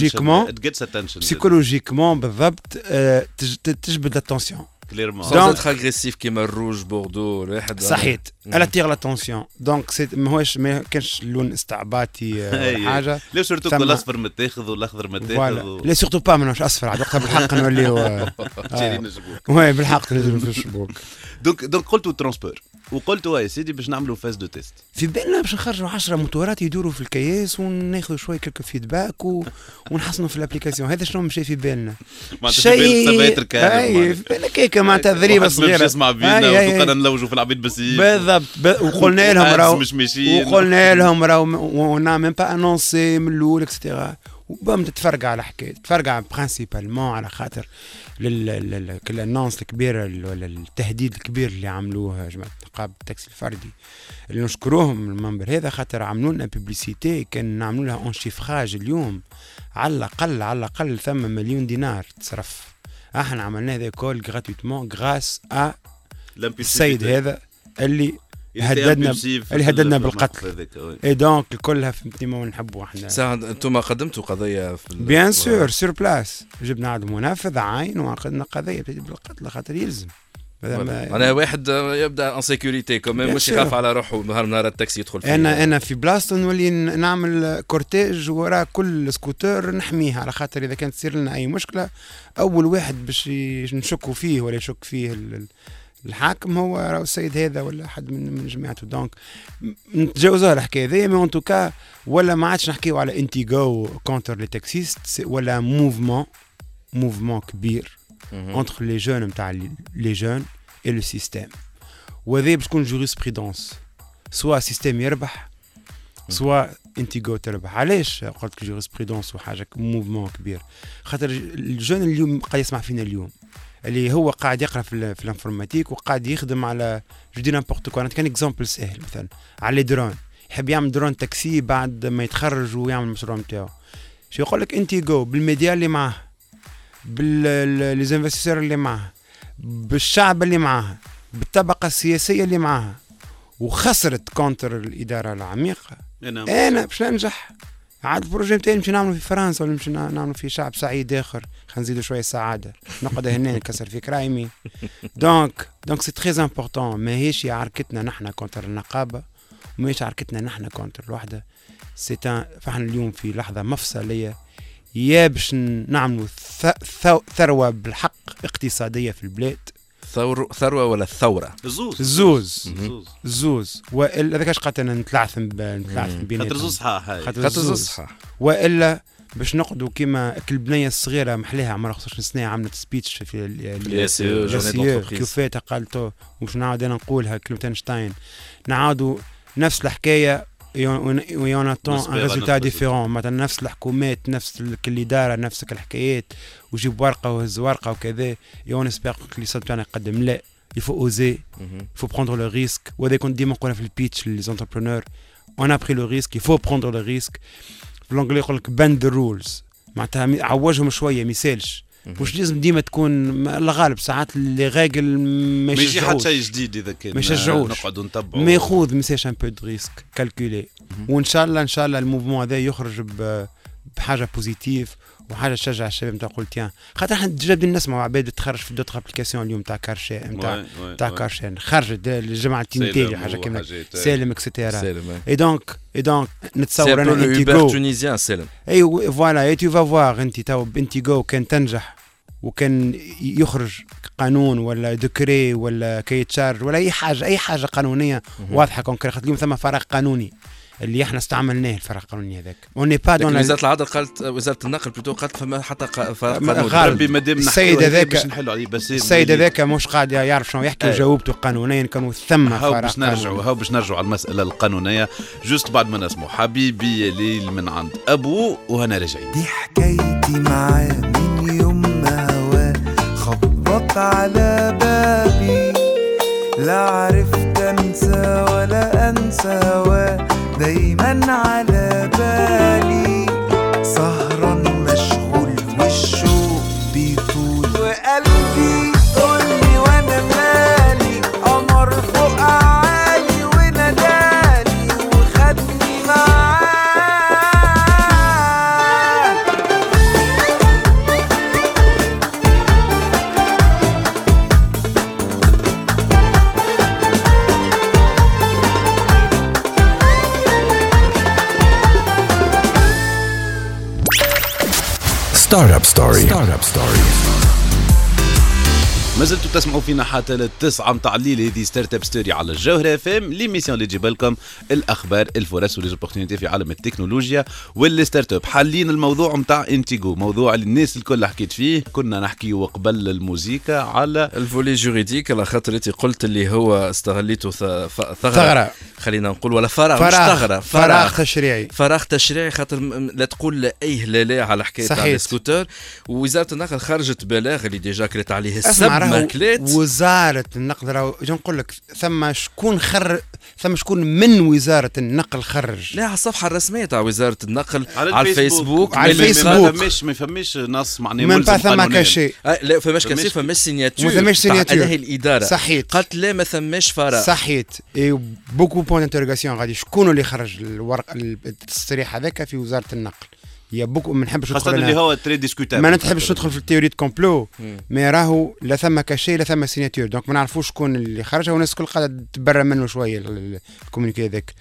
Speaker 8: بسيكولوجيكمون بالضبط تجبد الاتونسيون.
Speaker 1: سون اتر اغريسيف كيما الروج بوردو واحد
Speaker 8: صحيت الا تيغ لاتونسيون. دونك ماهوش ما كانش لون استعباطي ولا حاجه.
Speaker 3: لا سورتو كل الاصفر متاخذ والاخضر متاخذ
Speaker 8: لا سورتو با مانوش اصفر عاد وقتها بالحق نوليو
Speaker 3: جايين الجبوك.
Speaker 8: وي بالحق نزلوا في الشبوك.
Speaker 3: دونك قلتوا ترونسبور وقلتوا يا سيدي باش نعملوا فاز دو تيست.
Speaker 8: في بالنا باش نخرجوا 10 موتورات يدوروا في الكياس وناخذوا شويه كلك فيدباك ونحسنوا في الابليكاسيون. هذا شنو مشى في بالنا؟
Speaker 3: شيء
Speaker 8: اي في بالنا كيكه معناتها ذريبه صغيره
Speaker 3: نسمع فينا وقلنا نلوجوا في العبيد بس
Speaker 8: بالضبط. وقلنا لهم راهو ونعمل با انونسي من الاول اكسترا. وبام تتفرقع على حكايه تفرقع برينسيبالمون على خاطر الانونس الكبيره ولا التهديد الكبير اللي عملوه جماعه نقابه التاكسي الفردي اللي نشكروهم المنبر هذا خاطر عملوا لنا بوبليسيتي كان نعملوا لها اون شيفراج اليوم على الاقل ثم مليون دينار تصرف. احنا عملنا هذا كل غراتويتمون غراس ا السيد هذا اللي هددنا بالقتل. اي دونك كلها فهمتني ما نحبوا احنا.
Speaker 1: ساعة انتم قدمتوا قضيه في
Speaker 8: بيان سور سور بلاس، جبنا عاد منفذ عين وعقدنا قضيه بالقتل خاطر يلزم.
Speaker 1: انا واحد يبدا ان سيكوريتي كمان مش يخاف على روحه نهار التاكسي يدخل فيه.
Speaker 8: انا في بلاصه نولي نعمل كورتيج وراء كل سكوتر نحميها على خاطر اذا كانت تصير لنا اي مشكله اول واحد باش نشكوا فيه ولا يشك فيه الحاكم هو راهو السيد هذا ولا حد من جماعته. دونك نتجاوزوها الحكايه هذه مي اون توكا ولا ما عادش نحكيو على انتيغو كونتر لي تاكسيست ولا موفمون كبير entre les jeunes نتاع les jeunes et le système. وهذا باش تكون جوريسبريدونس سواء سيستم يربح سواء انتيغو تربح. علاش قلت لك جوريسبريدونس وحاجه موفمون كبير؟ خاطر الجون اليوم قاعد يسمع فينا اليوم اللي هو قاعد يقرا في الانفورماتيك وقاعد يخدم على جو دي نامبورت كو. كان اكزامبل سهل مثلا على درون، يحب يعمل درون تاكسي بعد ما يتخرج ويعمل المشروع نتاعو. شو يقول لك انتيغو بالميديا اللي معاه بالانفستيسور اللي معاه بالشعب اللي معاه بالطبقه السياسيه اللي معاه وخسرت كونتر الاداره العميقه. انا باش ننجح عاد البروجي نتاعي نمشي نعملوا في فرنسا ولا نمشي نعملوا في شعب سعيد اخر. خلينا نزيدوا شويه سعاده نقعد هنا نكسر في كرايمي. دونك سي تري امبورطون. ماهيش عركتنا نحن كونتر النقابه وماهيش عركتنا نحن كونتر الوحده. فاحنا اليوم في لحظه مفصليه يا باش نعملوا ثروه بالحق اقتصاديه في البلاد.
Speaker 1: ثروه ولا الثوره؟
Speaker 8: الزوز والا هذاك اش قاتلنا نتلعثم بيناتهم
Speaker 3: خاطر زوز
Speaker 1: صحاح
Speaker 8: والا باش نقعدوا كيما البنيه الصغيره محليها عمرها 15 سنه عملت سبيتش في الياسيو كيفات قالتو وش نعاود انا نقولها كلمتنشتاين نعاودوا نفس الحكايه ويوناتون ان ريزولتا ديفيرون. مثلا نفس الحكومات نفس الاداره نفس الحكايات وجيب ورقه وهز ورقه وكذا يون اسبير اللي صدق انا يقدم لا il faut oser, il faut prendre le risque. وهذا كنت ديما نقولها في البيتش les entrepreneurs. On a pris le risque, il faut prendre le risque. في الانجلي يقول لك bend the rules. معناتها عوجهم شويه ما يسالش. مش لازم ديما تكون الغالب ساعات اللي غاقل ما
Speaker 3: يجي حتى
Speaker 8: يشجعوش.
Speaker 3: شيء جديد اذا كان
Speaker 8: ما يشجعوش.
Speaker 3: نقعدوا نتبعوا.
Speaker 8: ما ياخذ مساش ان بو دو ريسك كالكولي. وان شاء الله الموفمون هذا يخرج بحاجه بوزيتيف وحاجه تشجع الشباب نتاع قلت يان خاطر احنا جابين نسمعوا عباد تخرج في دوتر ابليكاسيون اليوم تاع كارشي نتاع كارشين خرجت الجماعه التينيتي حاجه كيما سالم اكسترا اي دونك نتصور انا
Speaker 1: انتيغو تونيزيان سالم
Speaker 8: اي فوالا اي تو فا فوار انت تو انتيغو كان تنجح وكان يخرج قانون ولا دكري ولا كي تشارج ولا اي حاجه قانونيه واضحه كونكريت اليوم ثم فراغ قانوني اللي احنا استعملناه الفرق القانوني هذاك اوني با دون
Speaker 1: وزاره العدل قالت وزاره النقل بلوتو قالت فما حتى قانون
Speaker 3: غالبي مادام
Speaker 8: السيد هذاك
Speaker 3: باش نحلوا عليه بس
Speaker 8: السيد هذاك مش قاعد يعرف شنو يحكي وجاوبته قانونيا كانوا ثم فرق
Speaker 3: باش نرجعوا على المساله القانونيه جوست بعد ما نسمعوا حبيبي يا ليل من عند ابو وهنا راجعين
Speaker 9: دي حكايتي معاه من يوم ما هواه خبط على بابي لا عرفت انسى ولا انسى هواه دايما على بالي سهران مشغول والشوق بيطول وقلبي قولي وانا مالي قمر فوق عالي ونادالي وخدني معاه
Speaker 7: Startup Story. Startup Story.
Speaker 3: ما زلتوا تسمعوا فينا حتى للتسعة متاع الليل. هذه ستارت اب ستوري على الجوهرة اف ام، ليميسيون اللي تجيب لكم الاخبار الفرص وليزوبورتينيتي في عالم التكنولوجيا والستارت اب. حالين الموضوع متاع انتيغو، موضوع اللي الناس الكل حكيت فيه. كنا نحكيو قبل الموسيقى على
Speaker 1: الفولي جوريديك، على خاطر انت قلت اللي هو استغليته ثغرة، خلينا نقول، ولا فراغ مش ثغرة، فراغ تشريعي، خاطر لا تقول اي لا على حكايه تاع السكوتر. ووزاره النقل خرجت بلاغ اللي ديجا كريت عليه السب ماكلات.
Speaker 8: وزاره النقل راهو نقول لك ثم شكون من وزاره النقل خرج.
Speaker 1: لا، على الصفحه الرسميه تاع وزاره النقل
Speaker 3: على الفيسبوك. ما فماش نص معناه
Speaker 8: ملزم قانونيا.
Speaker 1: لا فماش كاشي، فماش سيناتور عليه الاداره.
Speaker 8: صحيت.
Speaker 1: قالت لا ما ثماش فراغ.
Speaker 8: صحيت. اي بوكو بوين انترغاسيون غادي شكون اللي خرج الورق التصريح هذاك في وزاره النقل. يا بوكو ما نحبش ندخل
Speaker 3: اللي هو تري ديسكوتابل،
Speaker 8: ما نحبش ندخل في التيوري دو كومبلو، مي راهو لا ثم كاشي لا ثم سيناتور، دونك ما نعرفوش شكون اللي خرجها، والناس الكل قاعده تبرى منه شويه الكومونيكي هذاك.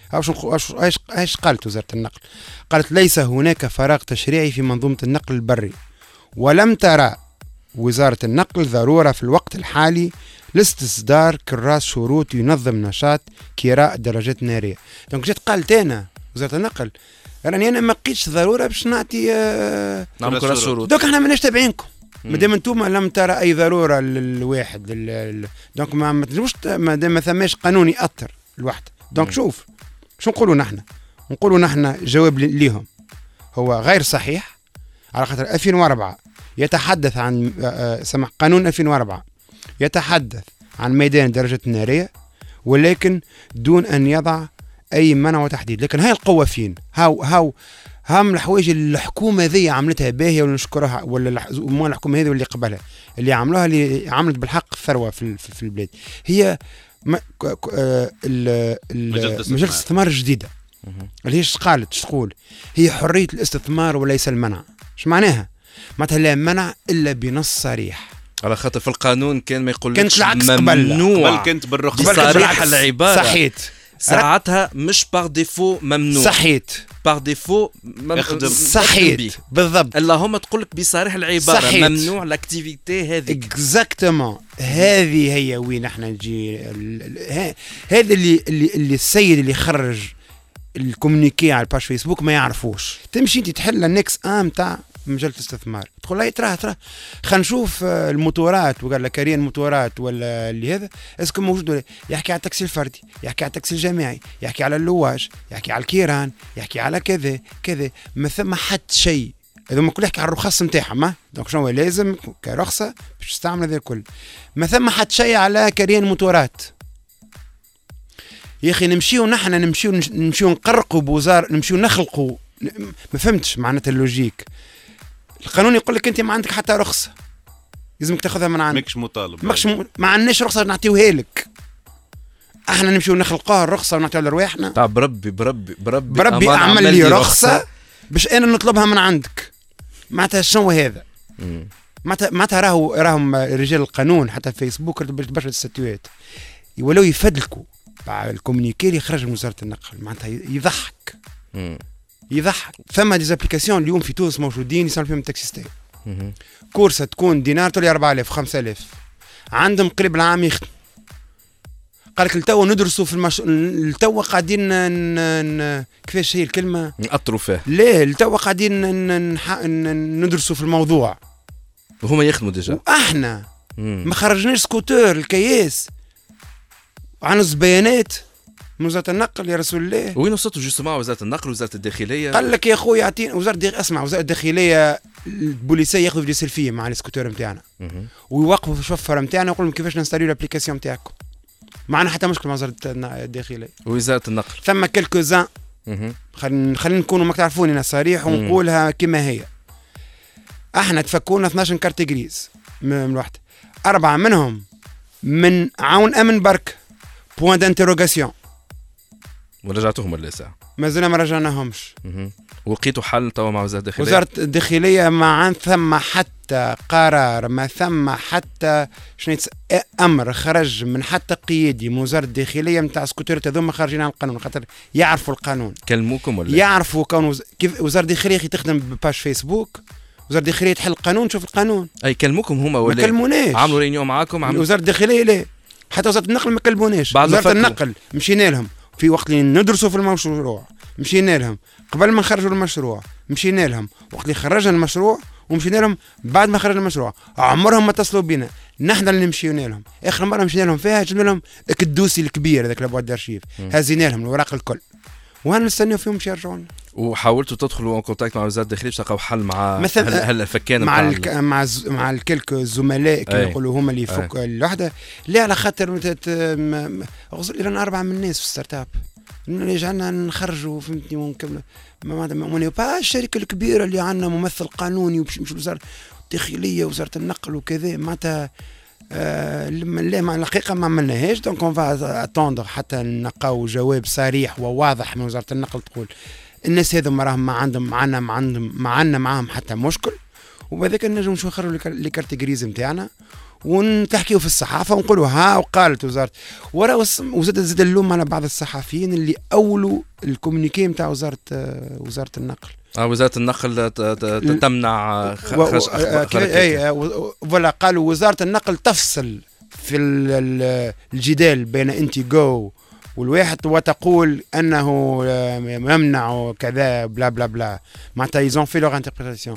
Speaker 8: ايش قالت وزاره النقل؟ قالت ليس هناك فراغ تشريعي في منظومه النقل البري، ولم ترى وزاره النقل ضروره في الوقت الحالي لاستصدار كراس شروط ينظم نشاط كراء الدراجات الناريه. دونك جيت قالت انا وزاره النقل راني انا ما لقيتش ضروره باش نعطي
Speaker 1: نعمل كراس شروط.
Speaker 8: دونك احنا ماناش تابعينكم مادام انتم لم ترى اي ضروره للواحد دونك ما تجوش مادام ما ثماش قانون ياثر الواحد. دونك شوف شو نقولوا نحن جواب ليهم هو غير صحيح، على خاطر 2004 يتحدث عن قانون 2004 يتحدث عن ميدان الدراجات الناريه، ولكن دون ان يضع اي منع وتحديد. لكن هاي القوه فين؟ هاو هم الحوايج اللي الحكومه ذي عملتها باهيه ونشكرها، ولا الحكومه هذه واللي قبلها اللي عملوها، اللي عملت بالحق ثروه في البلاد، هي مجلس الاستثمار الجديده اللي هي تقول هي حريه الاستثمار وليس المنع. ايش معناها؟ معناتها لا منع الا بنص صريح،
Speaker 1: على خاطر في القانون كان ما يقولش
Speaker 8: كانت العكس
Speaker 1: ممنوع،
Speaker 3: بل كنت بالرخصه
Speaker 1: بصريح العباره.
Speaker 8: صحيت.
Speaker 1: ساعتها مش باغ ديفو ممنوع،
Speaker 8: صحيت،
Speaker 1: باغ ديفو
Speaker 8: صحيت بالضبط.
Speaker 1: اللهم تقول لك بصريح العباره صحيت. ممنوع لاكتيفيتي هذه اكزاكتومون.
Speaker 8: هذه هي وين احنا نجي. هذا اللي السيد اللي خرج الكومونيكي على الباج فيسبوك ما يعرفوش. تمشي انت تحل النكس تاع مجال الاستثمار، تقول لا تراه خلينا نشوف الموتورات، وقال لك كارين موتورات ولا اللي هذا اسكو موجود ولا. يحكي على التاكسي الفردي، يحكي على التاكسي الجماعي، يحكي على اللواج، يحكي على الكيران، يحكي على كذا ما ثم حد شيء هذوما كل يحكي على الرخص نتاعهم. دونك شنو لازم كرخصه باش تستعمل هذا الكل. ما ثم حد شيء على كريان موتورات. يا اخي نمشيو نقرقوا بوزار، نمشيو نخلقوا. ما فهمتش معناتها اللوجيك. القانون يقول لك انت ما عندك حتى رخصه، لازمك تاخذها من عندك،
Speaker 3: ماكش مطالب،
Speaker 8: ما عندناش رخصه نعطيوها لك. احنا نمشيو نخلقوها الرخصه ونعطيوها لرواحنا. بربي اعمل لي رخصه باش انا نطلبها من عندك. معناتها شنو هذا؟ معناتها راهم رجال القانون حتى في فيسبوك برشا الستوات يولوا يفدلكوا الكومونيكي اللي خرج من وزاره النقل. معناتها يضحك. ثم ديزابليكاسيون اليوم في تونس موجودين يسموا فيهم التاكسيستين. كورسه تكون دينار تولي 4000 5000، عندهم قريب العام يخدم. قال لك التو ندرسوا في التو قاعدين كيفاش هي الكلمه؟ نأطروا فيه. لا التو قاعدين ندرسوا في الموضوع.
Speaker 1: وهما يخدموا ديجا.
Speaker 8: احنا ما خرجناش سكوتر الكياس عنص بيانات من وزاره النقل يا رسول الله.
Speaker 1: وين وصلتوا جوستومون وزاره النقل وزاره الداخليه؟
Speaker 8: قال لك يا خويا اعطينا اسمع وزاره الداخليه البوليسيه ياخذوا فيديو سيلفيه مع السكوتر نتاعنا ويوقفوا في الشفره نتاعنا ويقولوا لهم كيفاش نستاريو الابليكاسيون نتاعكم. معنا حتى مشكل مع وزاره الداخليه
Speaker 1: ووزاره النقل.
Speaker 8: ثم كلكوزان خلينا نكونوا ما تعرفوني انا صريح ونقولها كما هي. احنا تفكونا 12 كارت جريز من واحد، 4 منهم من عون امن برك بوان دانتيروغاسيون.
Speaker 1: ورجعتوهم ولا ساعه؟
Speaker 8: مازلنا ما رجعناهمش.
Speaker 1: ولقيتوا حل توا مع وزاره الداخليه؟
Speaker 8: وزاره الداخليه ما ثم حتى قرار، ما ثم حتى امر خرج من حتى قيادي من وزاره الداخليه نتاع سكوترات هذوما خارجين عن القانون، خاطر يعرفوا القانون.
Speaker 1: كلموكم ولا
Speaker 8: يعرفوا كون كيف وزاره الداخليه تخدم بباج فيسبوك، وزاره الداخليه تحل القانون تشوف القانون.
Speaker 1: اي كلموكم هما ولا
Speaker 8: ما كلموناش؟
Speaker 1: عملوا رينيون معاكم؟
Speaker 8: وزاره الداخليه لا، حتى وزاره النقل ما كلموناش. وزاره النقل مشينا لهم في وقت اللي ندرسوا في المشروع، مشينا لهم قبل ما نخرجوا المشروع، مشينا لهم وقت اللي خرجنا المشروع، ومشينا لهم بعد ما خرجنا المشروع. عمرهم ما اتصلوا بنا، نحن اللي مشينا لهم. اخر مره مشينا لهم فيها جبنا لهم الدوسي الكبير هذاك لابواد دارشيف، هزينا لهم الوراق الكل وانا نستناو فيهم باش يرجعوا لنا.
Speaker 1: وحاولتوا تدخلوا ان كونتاكت مع وزاره الداخليه باش تلقاو حل مع هل فكان
Speaker 8: مع الكلك الزملاء كي يقولوا هما اللي يفك الوحده. لا على خاطر لنا 4 من الناس في ستارت اب يجعلنا نخرجوا فهمتني ونكمل. ما با الشركه الكبيره اللي عندنا ممثل قانوني وباش وزاره الداخليه وزاره النقل وكذا معناتها لا مع الحقيقه ما عملناهاش. دونك اون فا اتوندر حتى نلقاو جواب صريح وواضح من وزاره النقل تقول الناس هذوما راهم ما عندنا معاهم حتى مشكل، وبهذاك نجم نشوفوا نخرجوا لي كارت جريز نتاعنا ونتحكيو في الصحافه ونقولوا ها وقالت وزاره وزاد اللوم على بعض الصحفيين اللي اولوا الكومونيكي نتاع وزاره النقل.
Speaker 1: وزاره النقل تمنع
Speaker 8: ولا قالوا وزاره النقل تفصل في الجدال بين انتيغو والواحد وتقول انه يمنع كذا بلا بلا بلا. معناتها يزون في لوغ انتربريتاسيون.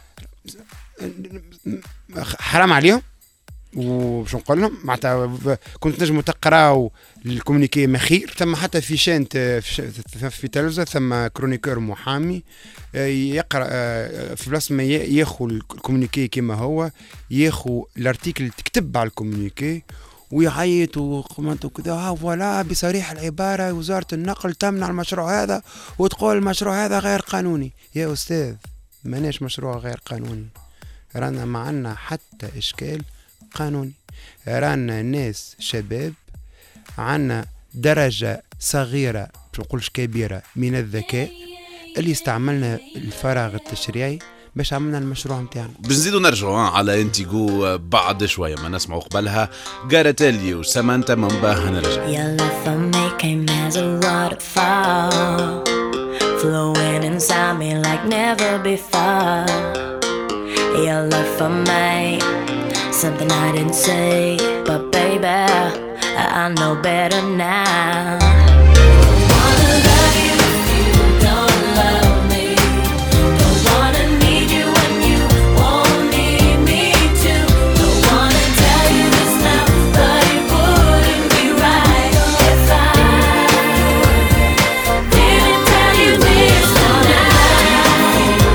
Speaker 8: حرام عليهم. وباش نقول لهم معناتها كنت نجموا تقراو الكومونيكي مخير. ثم حتى في شان في تلفزه ثم كرونيكور محامي يقرا في بلاصه ما ياخذ الكومونيكي كما هو، ياخذ الارتيكل تكتب على الكومونيكي ويعيط وقمت وكذا فوالا بصريح العباره وزاره النقل تمنع المشروع هذا وتقول المشروع هذا غير قانوني. يا استاذ ماناش مشروع غير قانوني، رانا ما عندنا حتى اشكال قانوني. رانا ناس شباب عنا درجة صغيرة مش نقولش كبيرة من الذكاء اللي استعملنا الفراغ التشريعي باش عملنا المشروع متاعنا.
Speaker 3: بنزيدوا نرجعوا على انتيغو بعد شوية ما نسمعوا قبلها غاراتيلي وسامانتا مباها نرجع.
Speaker 2: Your love for me came as a waterfall, flowing inside me like never before. Your love for me, something I didn't say, but baby, I know better now. Don't wanna love you if you don't love me. Don't wanna need you when you won't need me too. Don't wanna tell you this now, but it wouldn't be right if I didn't tell you this now.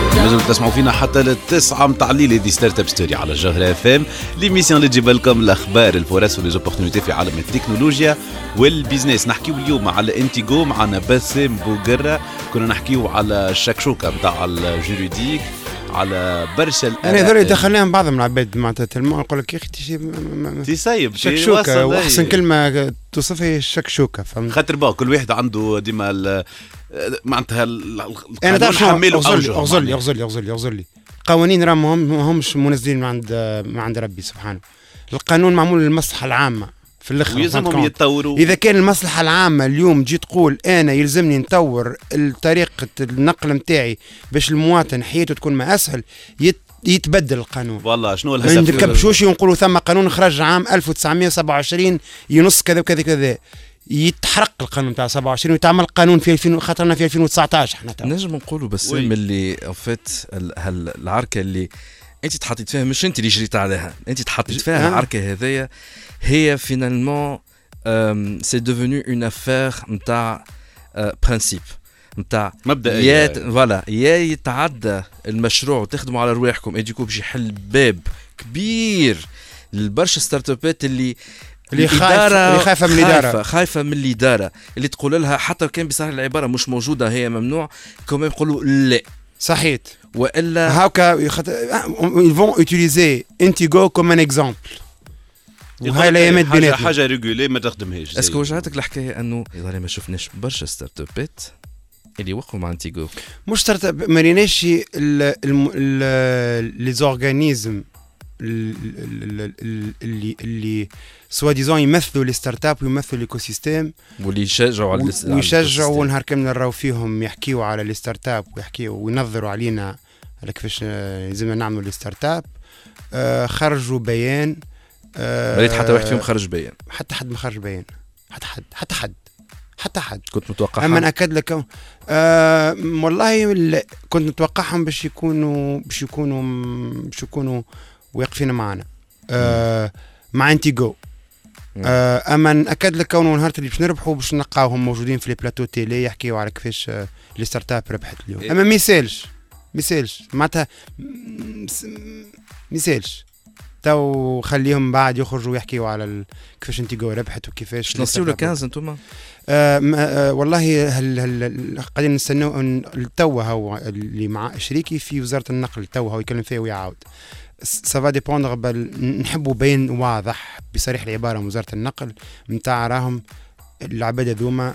Speaker 3: تسمعوا فينا حتى للتسعة متاع الليل. هذه ستارت اب ستوري على الجوهرة اف ام، ليميسيون اللي تجيب لكم الاخبار الفرص وليزوبورتينيتي في عالم التكنولوجيا والبيزنس. نحكيو اليوم على انتيغو معنا باسم بوقرة، كنا نحكيو على الشكشوكة متاع الجوريديك، على برشا
Speaker 8: انا هذول دخلناهم بعضهم العباد معناتها نقول لك يا اخي
Speaker 3: تسيب
Speaker 8: شكشوكه، واحسن كلمه توصفها هي الشكشوكه. فهمت؟
Speaker 3: خاطر بقى كل واحد عنده ديما معناتها
Speaker 8: انا تعرف اغزر لي قوانين راهم ماهمش منزلين من عند ربي سبحانه. القانون معمول للمصلحه العامه في الاخر،
Speaker 3: ويلزمهم يتطوروا.
Speaker 8: اذا كان المصلحه العامه اليوم تجي تقول انا يلزمني نطور طريقه النقل نتاعي باش المواطن حياته تكون ما اسهل، يتبدل القانون.
Speaker 3: والله شنو
Speaker 8: الهدف؟ ما نركبشوش ونقولوا ثم قانون خرج عام 1927 ينص كذا وكذا كذا، يتحرق القانون تاع 27 ويتعمل قانون في 2000 خاطرنا في 2019 احنا
Speaker 1: نجم نقولوا بس اللي فات العركه اللي انت تحطيت فيها، مش انت اللي جريت عليها، انت تحطيت فيها العركه هذيا، هي فينالمون سي ديفوني اون افير نتاع برانسيب نتاع
Speaker 3: مبدئيا.
Speaker 1: فوالا يا يتعدى المشروع وتخدموا على رواحكم يجيكم باش يحل باب كبير للبرشا ستارت ابات اللي خايفه من الاداره اللي تقول لها حتى كان بصراحه العباره مش موجوده هي ممنوع كمان يقولوا لا
Speaker 8: صحيت،
Speaker 1: والا
Speaker 8: هاكا ils vont utiliser Intigo comme un exemple. وهاي الايامات بيناتنا
Speaker 3: حاجه ريغولي ما تخدمهاش.
Speaker 1: اسكو وجعتك الحكايه انه يظهر ما شفناش برشا ستارت ابات اللي وقفوا مع انتيغو؟
Speaker 8: مش ستارت اب، ما ريناش لي زورغانيزم اللي سوا ديزون يمثلوا لي ستارت اب ويمثلوا الايكو سيستيم واللي يشجعوا نهار كامل نراو فيهم يحكيوا على لي ستارت اب ويحكيوا وينظروا علينا على كيفاش لازمنا نعملوا لي ستارت اب. خرجوا بيان،
Speaker 1: ريت حتى واحد فيهم خرج بيان،
Speaker 8: حتى حد ما خرج بيان، حتى حد
Speaker 1: كنت متوقعها.
Speaker 8: اما ناكد لك والله كنت متوقعهم باش يكونوا واقفين معنا مع انتيغو. اما ناكد لك كونه نهار اللي باش نربحوا باش نلقاوهم موجودين في لي بلاتو تيلي يحكيوا على كيفاش لي ستارت اب ربحت اليوم. اما ميسالش معناتها ميسالش تو خليهم بعد يخرجوا يحكيوا على كيفاش انتيغو ربحت وكيفاش
Speaker 1: نصيو ل 15 انتم.
Speaker 8: والله قاعدين نستناو التوا هو اللي مع شريكي في وزاره النقل، التوا هو يكلم فيها ويعاود. سافا ديبوندر نحبوا بين واضح بصريح العباره من وزاره النقل نتاع راهم العباد ذوما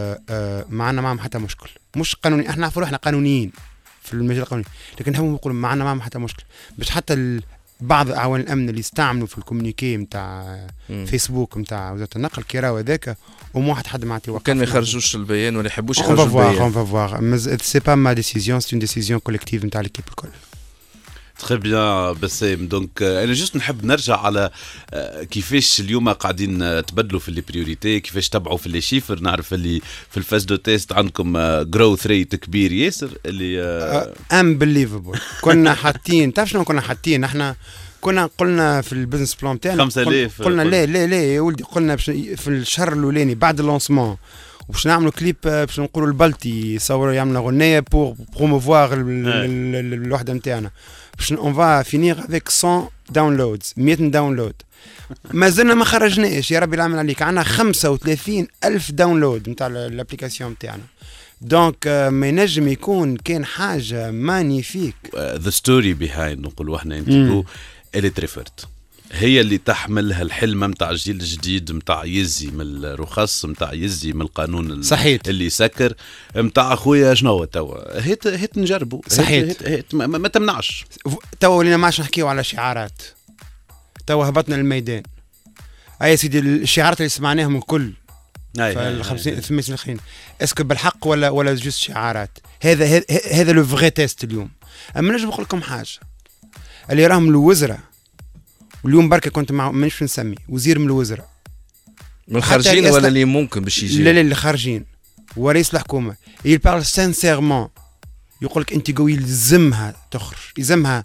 Speaker 8: معنا معهم حتى مشكل، مش قانوني. احنا نعرفوا احنا قانونيين في المجال القانوني، لكن نحبوا نقول معنا معهم حتى مشكل باش حتى بعض اعوان الامن اللي استعملوا في الكومونيكي نتاع فيسبوك نتاع وزاره النقل كي راهو هذاك ومو حد ما يعطي وقت
Speaker 1: كان ما يخرجوش البيان ولا يحبوش يخرجوا البيان.
Speaker 8: اون فافوار سي با ما ديسيزيون، سي اون ديسيزيون كوليكتيف نتاع ليكيب الكل.
Speaker 3: تري بيان بسام. دونك انا جست نحب نرجع على كيفاش اليوم قاعدين تبدلوا في لي بريوريتي، كيفاش تبعوا في لي شيفر. نعرف اللي في الفاز دو تيست عندكم جروث ريت كبير ياسر اللي
Speaker 8: امبليفبل. كنا حاطين تعرف شنو كنا حاطين؟ احنا كنا قلنا في البزنس بلان تاعنا
Speaker 3: 5000
Speaker 8: قلنا لا يا ولدي، قلنا في الشهر الاولاني بعد اللونسمون باش نعملوا كليب باش نقولوا البلتي يصوروا يعملوا غنية بور بروموفوار الوحده نتاعنا باش اون فا فينير افيك 100 داونلودز 100 داونلود. ما زلنا ما خرجناش يا ربي العمل عليك، عندنا 35,000 داونلود نتاع الابليكاسيون نتاعنا. دونك ما ينجم يكون كان حاجه مانيفيك.
Speaker 3: ذا ستوري بيهايند نقولوا احنا انتو اللي تريفرت هي اللي تحملها الحلمه نتاع الجيل الجديد نتاع يزي من الرخص نتاع يزي من القانون
Speaker 8: صحيت
Speaker 3: اللي يسكر نتاع اخويا شنو هو توا هيت نجربوا
Speaker 8: صحيت
Speaker 3: هيت ما تمنعش.
Speaker 8: توا ولينا ما عادش نحكيو على شعارات، توا هبطنا للميدان. اي سيدي الشعارات اللي سمعناهم الكل في 50 سنين الاخرين اسكو بالحق ولا جوست شعارات؟ هذا لو فغي تيست اليوم. اما نجم نقول لكم حاجه، اللي راهم الوزراء واليوم بركه كنت مع مانيش نسمي وزير من الوزراء
Speaker 1: من الخارجين ولا اللي ممكن باش يجي؟
Speaker 8: لا اللي خارجين ورئيس الحكومه يبارل سانسيرمون يقول لك انت قوي يلزمها تخرج، يلزمها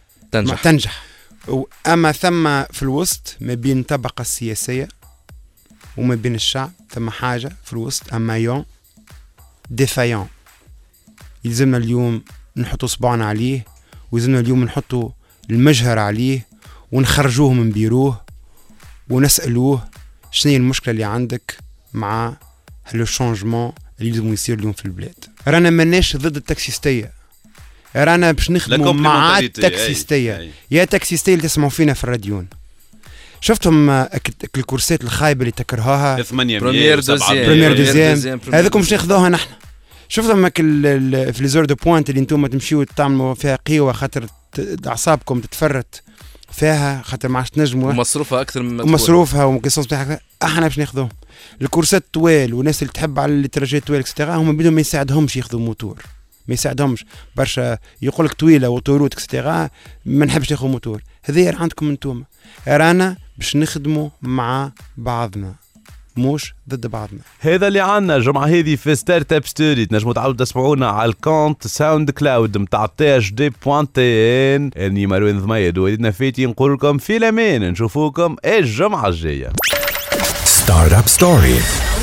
Speaker 8: تنجح. اما ثم في الوسط ما بين الطبقه السياسيه وما بين الشعب ثم حاجه في الوسط، اما يون ديفايون يلزمنا اليوم نحطوا صباعنا عليه، ويزلنا اليوم نحطوا المجهر عليه ونخرجوه من بيروه ونسألوه شنو هي المشكلة اللي عندك مع لو شونجمون اللي لازم يصير اليوم في البلاد. رانا ماناش ضد التاكسيستية، رانا باش نخدموا مع التاكسيستية. يا تاكسيستية اللي تسمعوا فينا في الراديون، شفتهم الكورسات الخايبة اللي تكرهوها
Speaker 3: 8
Speaker 8: بريمير دوزيام هذاكم باش ناخذوها نحن. شفتهم في لي زور دو بوينت اللي انتم تمشيو تعملوا فيها قيوة خاطر اعصابكم تتفرت فيها خاطر ما عادش تنجموا،
Speaker 1: ومصروفها اكثر من
Speaker 8: مصروفها ومقصص بتاعها. احنا باش ناخذوهم الكورسات طوال، والناس اللي تحب على التراجيت طوال اكسترا هم بدهم ما يساعدهمش ياخذوا موتور، ما يساعدهمش برشا. يقول لك طويله وطوروت اكسترا ما نحبش ناخذ موتور. هذه عندكم انتم، رانا باش نخدموا مع بعضنا مش ضد بعضنا.
Speaker 3: هذا اللي عنا الجمعة هذه في ستارت اب ستوري. تنجموا تعاودوا تسمعونا على الكونت ساوند كلاود متاع THD.TN. اني مروان ضميد ووليدنا فاتي نقول لكم في الامان، نشوفوكم الجمعة الجاية.
Speaker 7: ستارت اب ستوري.